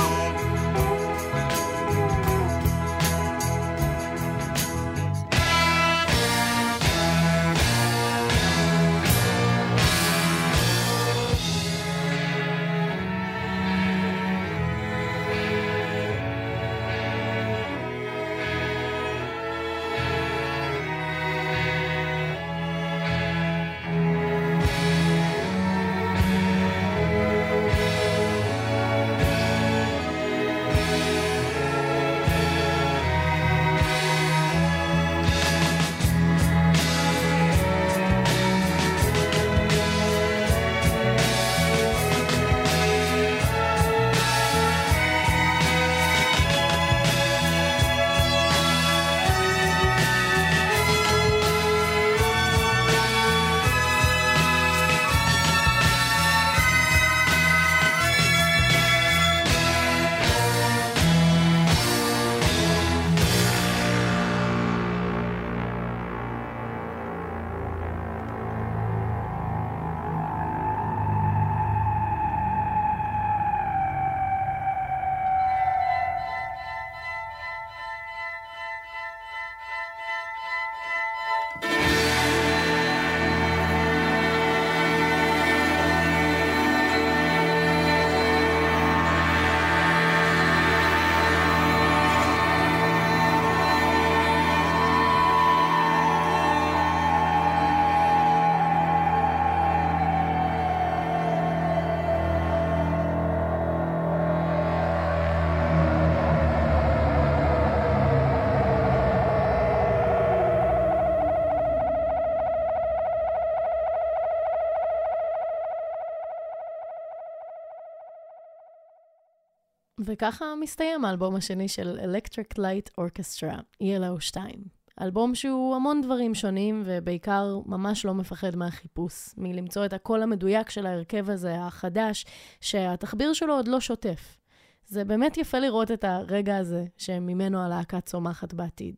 וככה מסתיים האלבום השני של Electric Light Orchestra, ELO 2. אלבום שהוא המון דברים שונים, ובעיקר ממש לא מפחד מהחיפוש, מלמצוא את הקול המדויק של ההרכב הזה, החדש, שהתחביר שלו עוד לא שוטף. זה באמת יפה לראות את הרגע הזה, שממנו הלהקה צומחת בעתיד.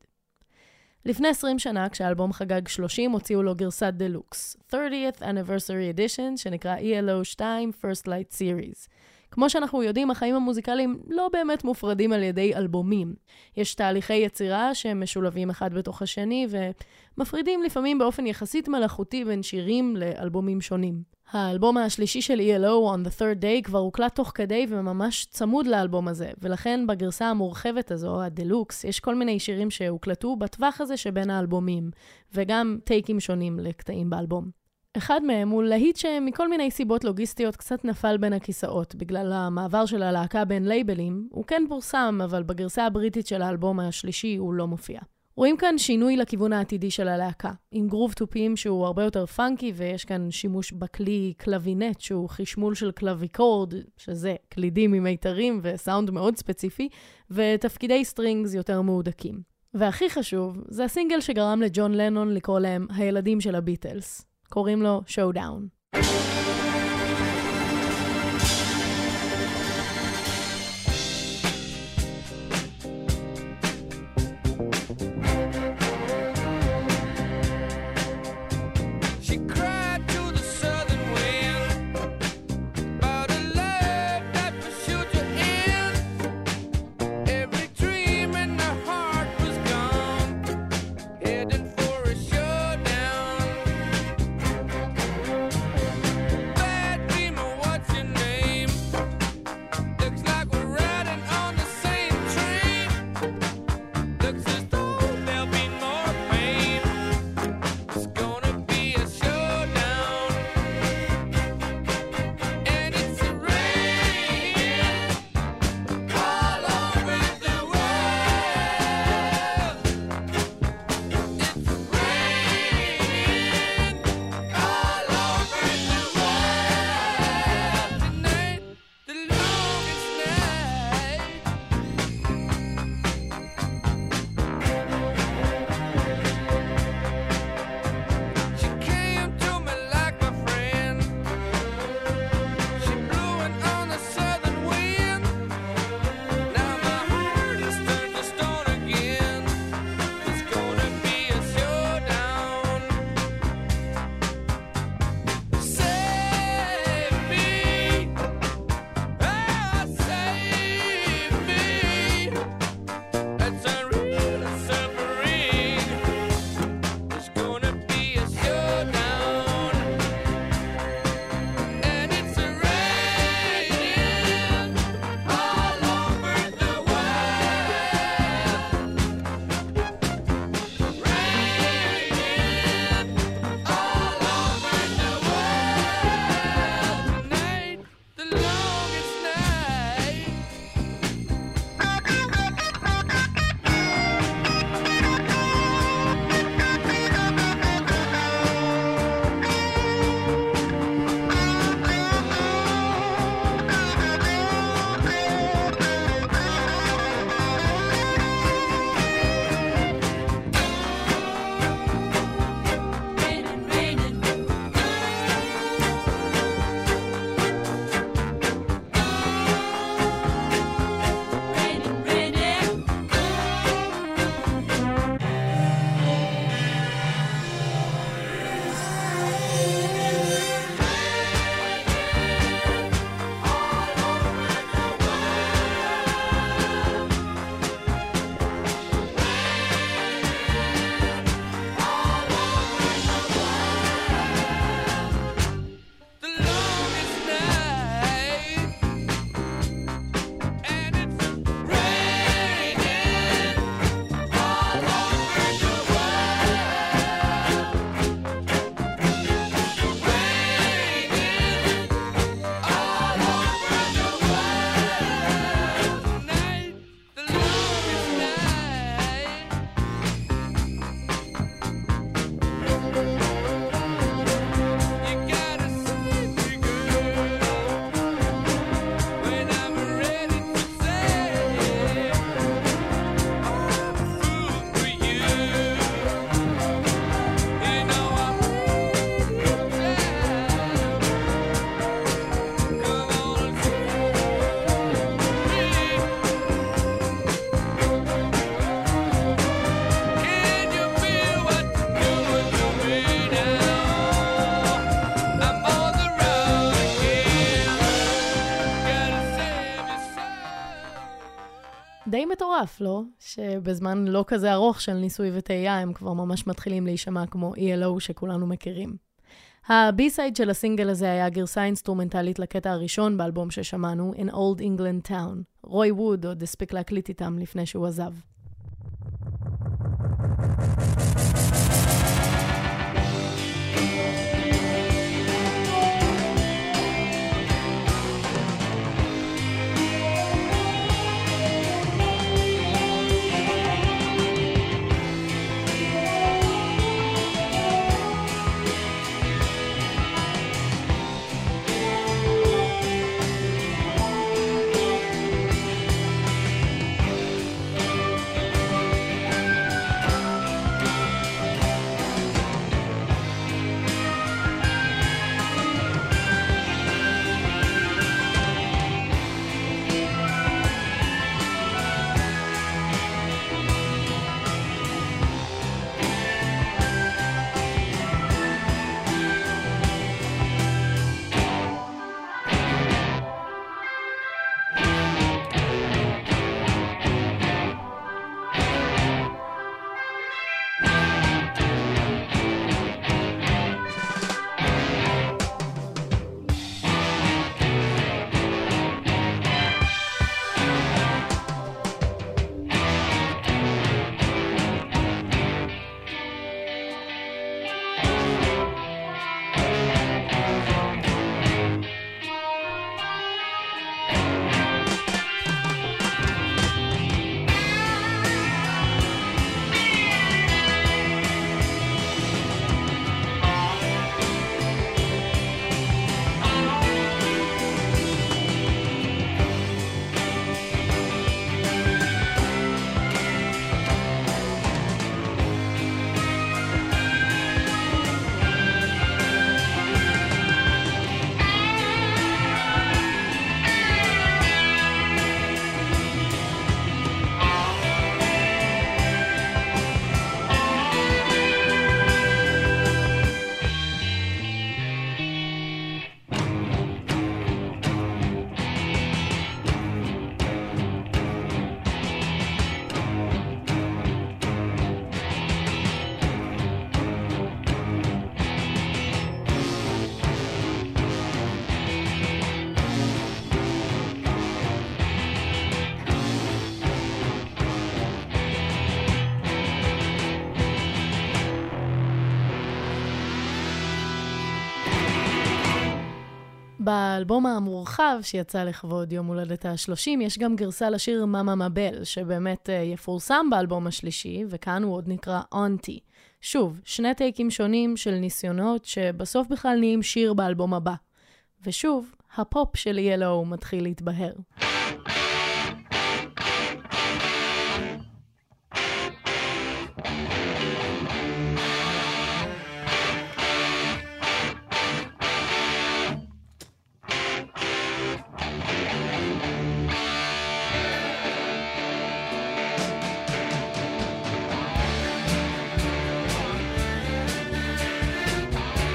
לפני 20 שנה, כשהאלבום חגג 30, הוציאו לו גרסת דלוקס, 30th Anniversary Edition, שנקרא ELO 2 First Light Series. כמו שאנחנו יודעים, החיים המוזיקליים לא באמת מופרדים על ידי אלבומים. יש תהליכי יצירה שהם משולבים אחד בתוך השני, ומפרידים לפעמים באופן יחסית מלאכותי בין שירים לאלבומים שונים. האלבום השלישי של ELO, On the Third Day, כבר הוקלט תוך כדי וממש צמוד לאלבום הזה, ולכן בגרסה המורחבת הזו, הדלוקס, יש כל מיני שירים שהוקלטו בטווח הזה שבין האלבומים, וגם טייקים שונים לקטעים באלבום. אחד מהם הוא להיט שמכל מיני סיבות לוגיסטיות קצת נפל בין הכיסאות, בגלל המעבר של הלהקה בין לייבלים. הוא כן פורסם, אבל בגרסה הבריטית של האלבום השלישי הוא לא מופיע. רואים כאן שינוי לכיוון העתידי של הלהקה, עם גרוב טופים שהוא הרבה יותר פאנקי, ויש כאן שימוש בכלי קלווינט, שהוא חשמול של קלוויקורד, שזה קלידים עם מיתרים וסאונד מאוד ספציפי, ותפקידי סטרינגס יותר מהודקים. והכי חשוב, זה הסינגל שגרם לג'ון לנון לקרוא להם הילדים של הביטלס. קוראים לו Showdown. Back מטורף, לא? שבזמן לא כזה ארוך של ניסוי וטעייה, הם כבר ממש מתחילים להישמע כמו ELO שכולנו מכירים. הבי-סייד של הסינגל הזה היה גרסה אינסטרומנטלית לקטע הראשון באלבום ששמענו, In Old England Town. רוי ווד עוד הספיק להקליט איתם לפני שהוא עזב. באלבום המורחב שיצא לכבוד יום הולדת ה-30, יש גם גרסה לשיר מאמה מבל, שבאמת יפורסם באלבום השלישי, וכאן הוא עוד נקרא אונטי. שוב, שני טייקים שונים של ניסיונות שבסוף בכלל נהיים שיר באלבום הבא. ושוב, הפופ של ELO מתחיל להתבהר.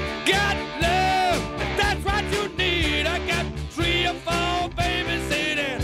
Got love, that's what you need. I got 3 or 4 babies sitting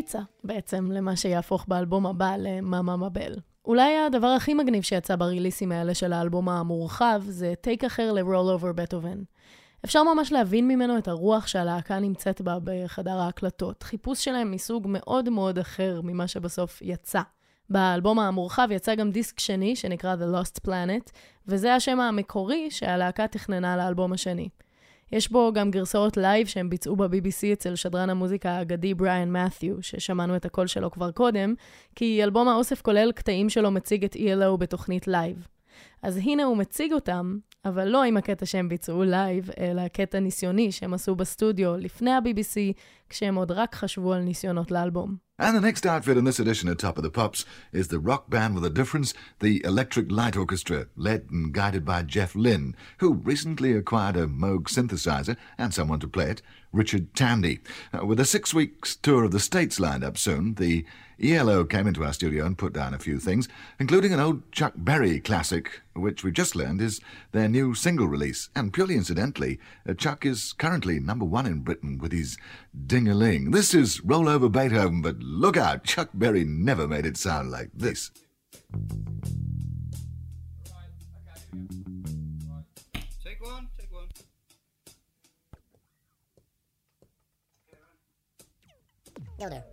פיצה, בעצם, למה שיהפוך באלבום הבא למאמה מבל. אולי הדבר הכי מגניב שיצא בריליסים האלה של האלבום המורחב, זה טייק אחר ל-Roll Over Beethoven. אפשר ממש להבין ממנו את הרוח שהלהקה נמצאת בה בחדר ההקלטות. חיפוש שלהם מסוג מאוד מאוד אחר ממה שבסוף יצא. באלבום המורחב יצא גם דיסק שני שנקרא The Lost Planet, וזה השם המקורי שהלהקה תכננה לאלבום השני. יש בו גם גרסאות לייב שהם ביצעו ב-BBC אצל שדרן המוזיקה האגדי בריאן מת'יו, ששמענו את הקול שלו כבר קודם, כי אלבום האוסף כולל קטעים שלו מציג את ELO בתוכנית לייב. אז הנה הוא מציג אותם, אבל לא עם הקטע שהם ביצעו לייב, אלא קטע ניסיוני שהם עשו בסטודיו לפני ה-BBC, כשהם עוד רק חשבו על ניסיונות לאלבום. And the next outfit in this edition of Top of the Pops is the rock band with a difference, the Electric Light Orchestra, led and guided by Jeff Lynne, who recently acquired a Moog synthesizer and someone to play it, Richard Tandy. With a 6 weeks tour of the States lined up soon, the ELO came into our studio and put down a few things, including an old Chuck Berry classic, which we just learned is their new single release. And purely incidentally, Chuck is currently #1 in Britain with his Ding-a-Ling. This is Roll Over Beethoven, but look out, Chuck Berry never made it sound like this. Take one. Go there.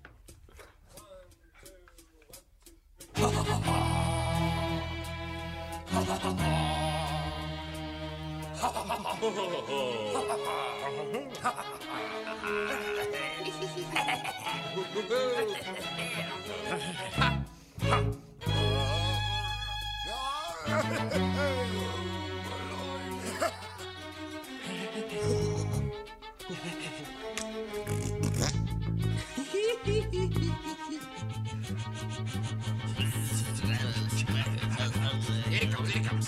Here it comes.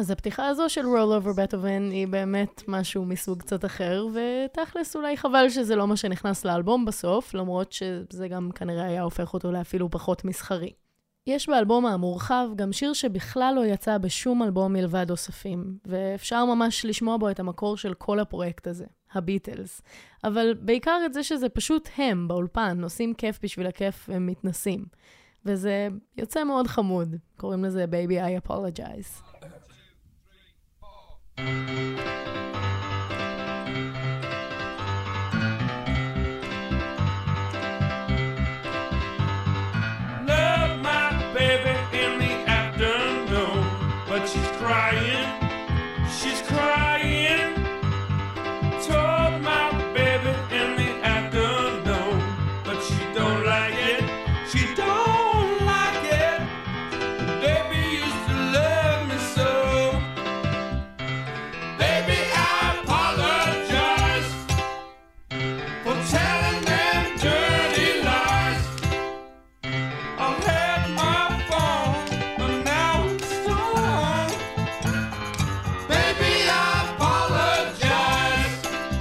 אז הפתיחה הזו של Roll Over Beethoven היא באמת משהו מסוג קצת אחר, ותכלס אולי חבל שזה לא מה שנכנס לאלבום בסוף, למרות שזה גם כנראה היה הופך אותו לאפילו פחות מסחרי. יש באלבום המורחב גם שיר שבכלל לא יצא בשום אלבום מלבד אוספים, ואפשר ממש לשמוע בו את המקור של כל הפרויקט הזה, הביטלס. אבל בעיקר את זה שזה פשוט הם באולפן, עושים כיף בשביל הכיף והם מתנסים. וזה יוצא מאוד חמוד, קוראים לזה Baby I Apologize. Love my baby in the afternoon, but she's crying, told my baby in the afternoon, but she don't like it, baby used to love me so, baby I apologize for telling them dirty lies. I had my phone, but now it's gone. Baby, I apologize.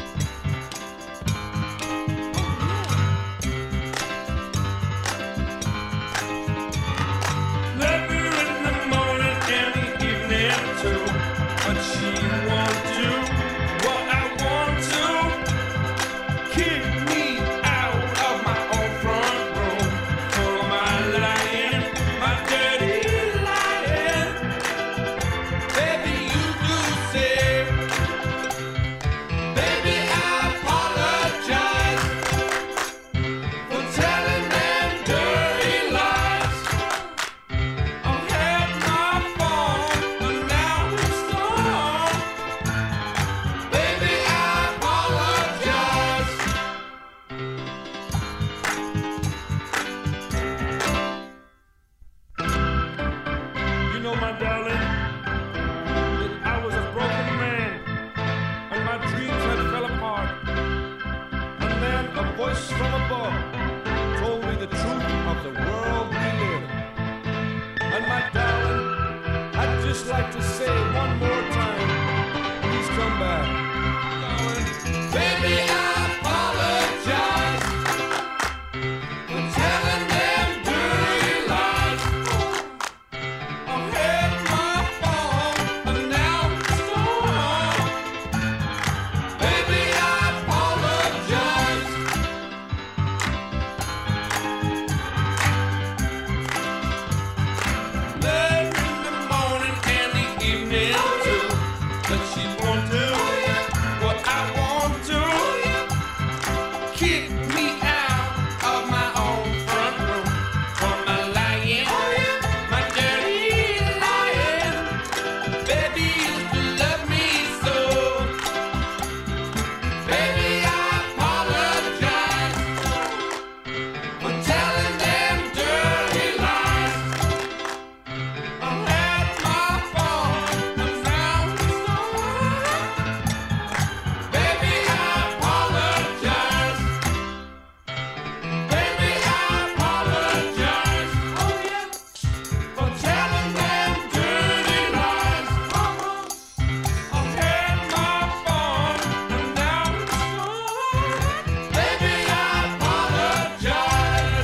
Love her in the morning and the evening too, but she won't do what I want to. Kick me out of my own front room for my lying, my dirty lying. Baby, you do say, baby, I apologize for telling them dirty lies. I had my phone, but now it's gone. Baby, I apologize. You know, my darling, that I was a broken man, and my dreams had fell apart. And then a voice from above told me the truth of the world we live. And my darling, I'd just like to say one more time, please come back. Darling, baby, I apologize for telling them dirty lies. I had my phone, but now it's gone. Baby, I apologize. Love in the morning and the evening too, but she won't do what I want to. Kick me out of my own front room for my lying, my dirty lying. Baby used to love me so. Baby, I apologize for telling them dirty lies. I had my phone, but now it's gone. Baby, I apologize. Baby, I apologize. Oh yeah, for telling them dirty lies. I had my phone, and now it's gone. Baby, I apologize.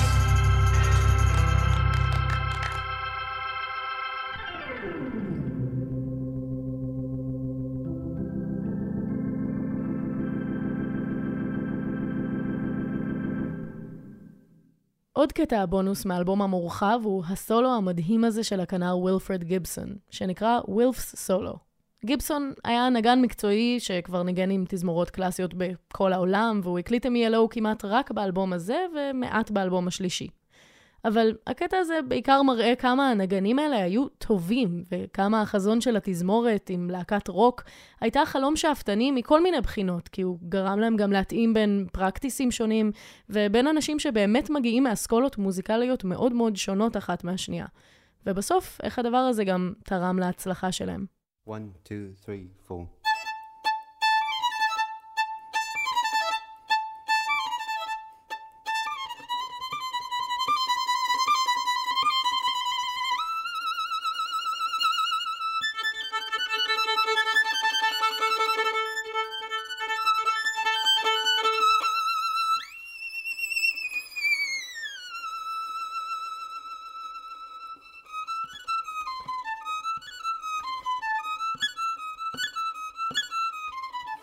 עוד קטע הבונוס מאלבום המורחב הוא הסולו המדהים הזה של הכנר וילפרד גיבסון, שנקרא וילפס סולו. גיבסון היה נגן מקצועי שכבר ניגן עם תזמורות קלאסיות בכל העולם, והוא הקליט עם ELO כמעט רק באלבום הזה ומעט באלבום השלישי. אבל הקטע הזה בעיקר מראה כמה הנגנים האלה היו טובים, וכמה החזון של התזמורת עם להקת רוק הייתה חלום שאפתני מכל מיני בחינות, כי הוא גרם להם גם להתאים בין פרקטיסים שונים, ובין אנשים שבאמת מגיעים מאסכולות מוזיקליות מאוד מאוד שונות אחת מהשנייה. ובסוף, איך הדבר הזה גם תרם להצלחה שלהם. 1, 2, 3, 4.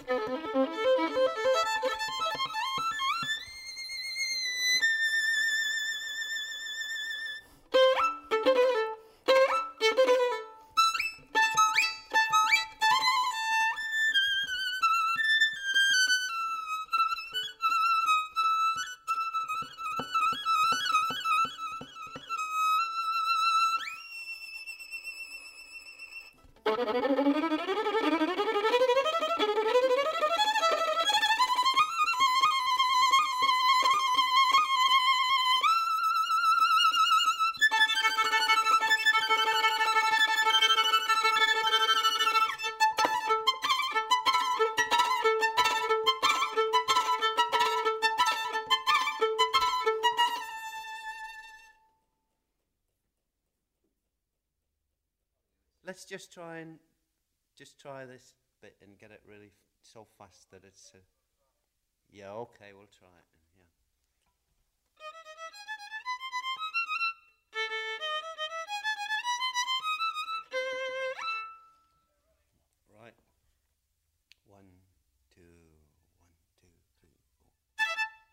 Let's just try this bit and get it really so fast that it's. Yeah, okay, we'll try it. Yeah. Right. 1, 2, 1, 2, 3, 4.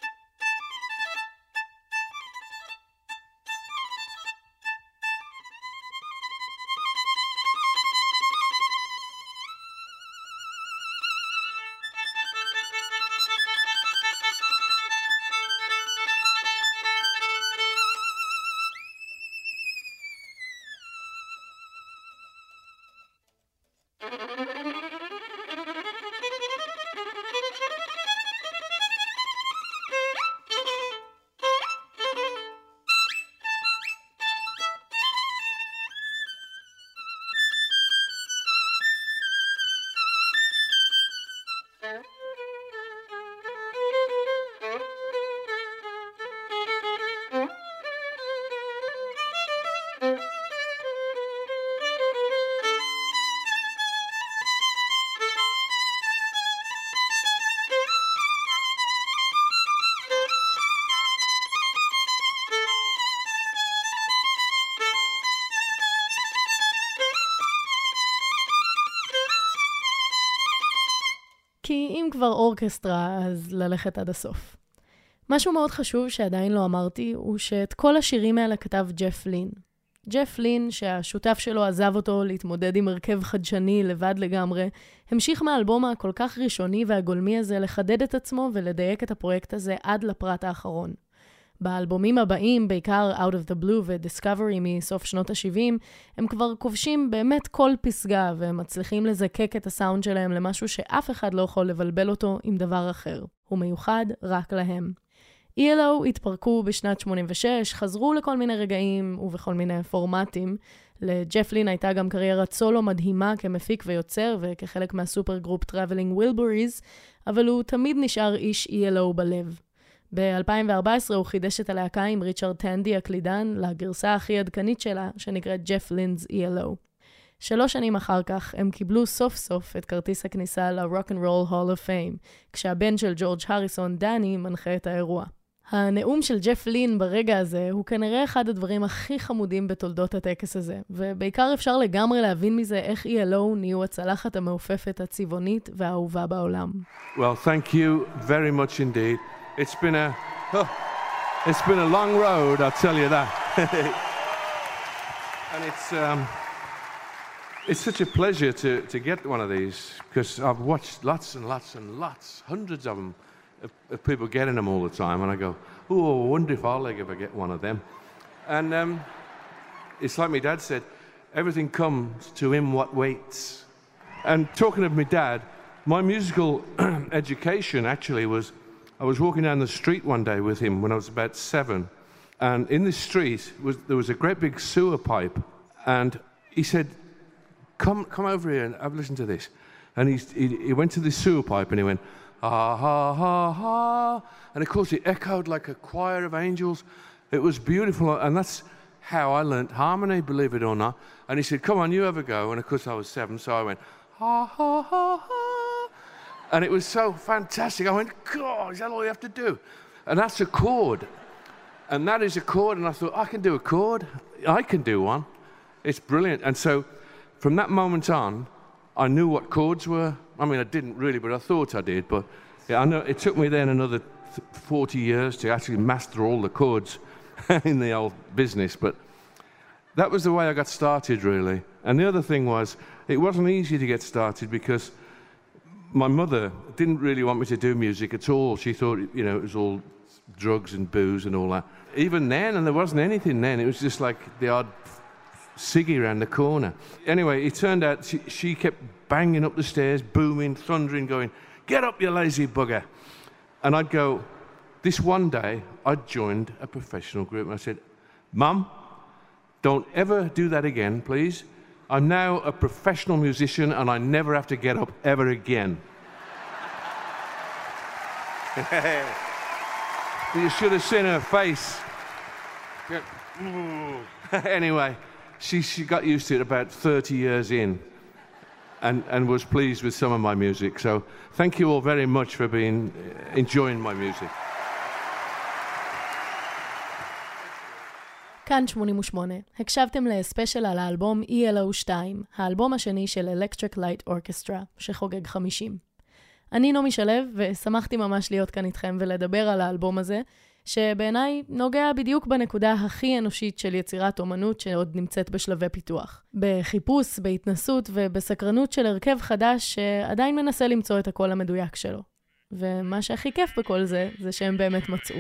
כי אם כבר אורקסטרה, אז ללכת עד הסוף. משהו מאוד חשוב שעדיין לא אמרתי, הוא שאת כל השירים האלה כתב ג'ף לין. ג'ף לין, שהשותף שלו עזב אותו להתמודד עם הרכב חדשני לבד לגמרי, המשיך מהאלבום הכל כך ראשוני והגולמי הזה לחדד את עצמו ולדייק את הפרויקט הזה עד לפרט האחרון. באלבומים הבאים, בעיקר Out of the Blue ו-Discovery מסוף שנות ה-70, הם כבר כובשים באמת כל פסגה ומצליחים לזקק את הסאונד שלהם למשהו שאף אחד לא יכול לבלבל אותו עם דבר אחר. הוא מיוחד רק להם. ELO התפרקו בשנת 86, חזרו לכל מיני רגעים ובכל מיני פורמטים. לג'ף לין הייתה גם קריירת סולו מדהימה כמפיק ויוצר וכחלק מהסופר גרופ Traveling Wilburys, אבל הוא תמיד נשאר איש ELO בלב. ב-2014 הוא חידש את הלהקה עם ריצ'רד טנדי הקלידן לגרסה הכי עדכנית שלה, שנקראת ג'ף לינ's ELO. 3 שנים אחר כך הם קיבלו סוף סוף את כרטיס הכניסה ל-Rock and Roll Hall of Fame, כשהבן של ג'ורג' הריסון, דני, מנחה את האירוע. הנאום של ג'ף לין ברגע הזה הוא כנראה אחד הדברים הכי חמודים בתולדות הטקס הזה, ובעיקר אפשר לגמרי להבין מזה איך ELO נהיו הצלחת המעופפת הצבעונית והאהובה בעולם. Well, thank you very much indeed. It's been a long road, I'll tell you that. And it's such a pleasure to get one of these, because I've watched lots and lots and lots, hundreds of them, of people getting them all the time, and I go, oh, I wonder if I'll ever get one of them. And it's like my dad said, everything comes to him what waits. And talking of my dad, my musical education actually was, I was walking down the street one day with him when I was about 7, and in the street there was a great big sewer pipe, and he said, come over here and have a listen to this. And he went to the sewer pipe and he went, ha ha ha ha, and of course it echoed like a choir of angels. It was beautiful, and that's how I learnt harmony, believe it or not. And he said, come on, you have a go. And of course I was 7, so I went, ha ha ha ha. And it was so fantastic. I went, God, is that all you have to do? And that's a chord. And that is a chord. And I thought, I can do a chord. I can do one. It's brilliant. And so from that moment on, I knew what chords were. I mean, I didn't really, but I thought I did. But yeah, I know it took me then another 40 years to actually master all the chords in the old business. But that was the way I got started, really. And the other thing was, it wasn't easy to get started because my mother didn't really want me to do music at all. She thought, you know, it was all drugs and booze and all that. Even then, and there wasn't anything then, it was just like the odd ciggy around the corner. Anyway, it turned out she kept banging up the stairs, booming, thundering, going, "Get up, you lazy bugger." And I'd go, this one day, I'd joined a professional group, and I said, "Mum, don't ever do that again, please. I'm now a professional musician, and I never have to get up ever again." You should have seen her face. Anyway, she got used to it about 30 years in and was pleased with some of my music. So thank you all very much for enjoying my music. כאן 88. הקשבתם לספיישל על האלבום ELO2, האלבום השני של Electric Light Orchestra, שחוגג 50. אני נעמי שלו, ושמחתי ממש להיות כאן איתכם ולדבר על האלבום הזה, שבעיניי נוגע בדיוק בנקודה הכי אנושית של יצירת אומנות שעוד נמצאת בשלבי פיתוח. בחיפוש, בהתנסות ובסקרנות של הרכב חדש שעדיין מנסה למצוא את הקול המדויק שלו. ומה שהכי כיף בכל זה, זה שהם באמת מצאו.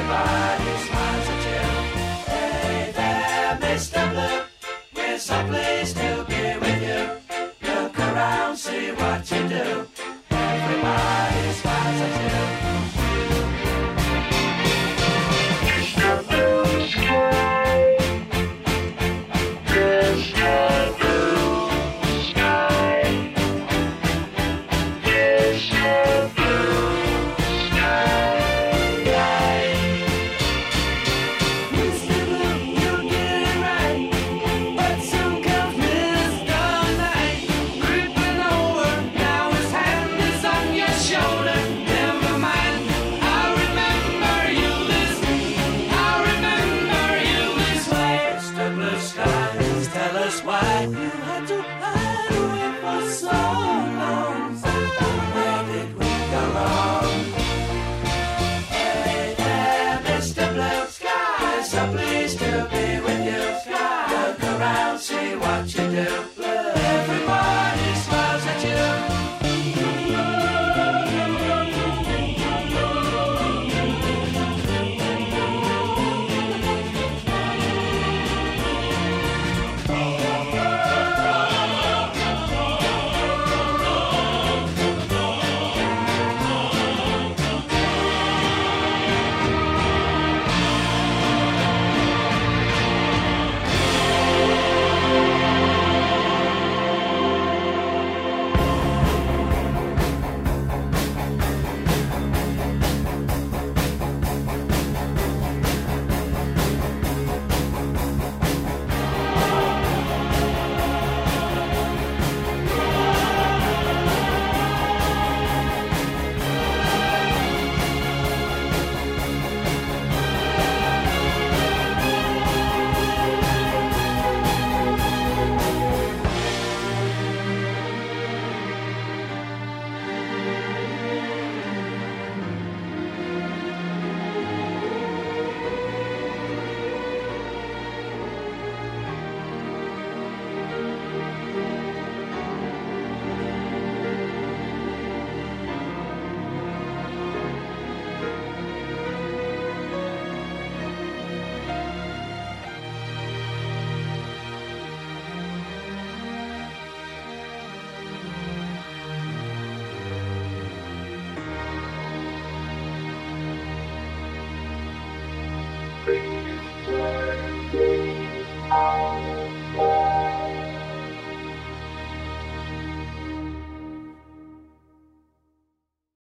Mr. Blue, we're so blue.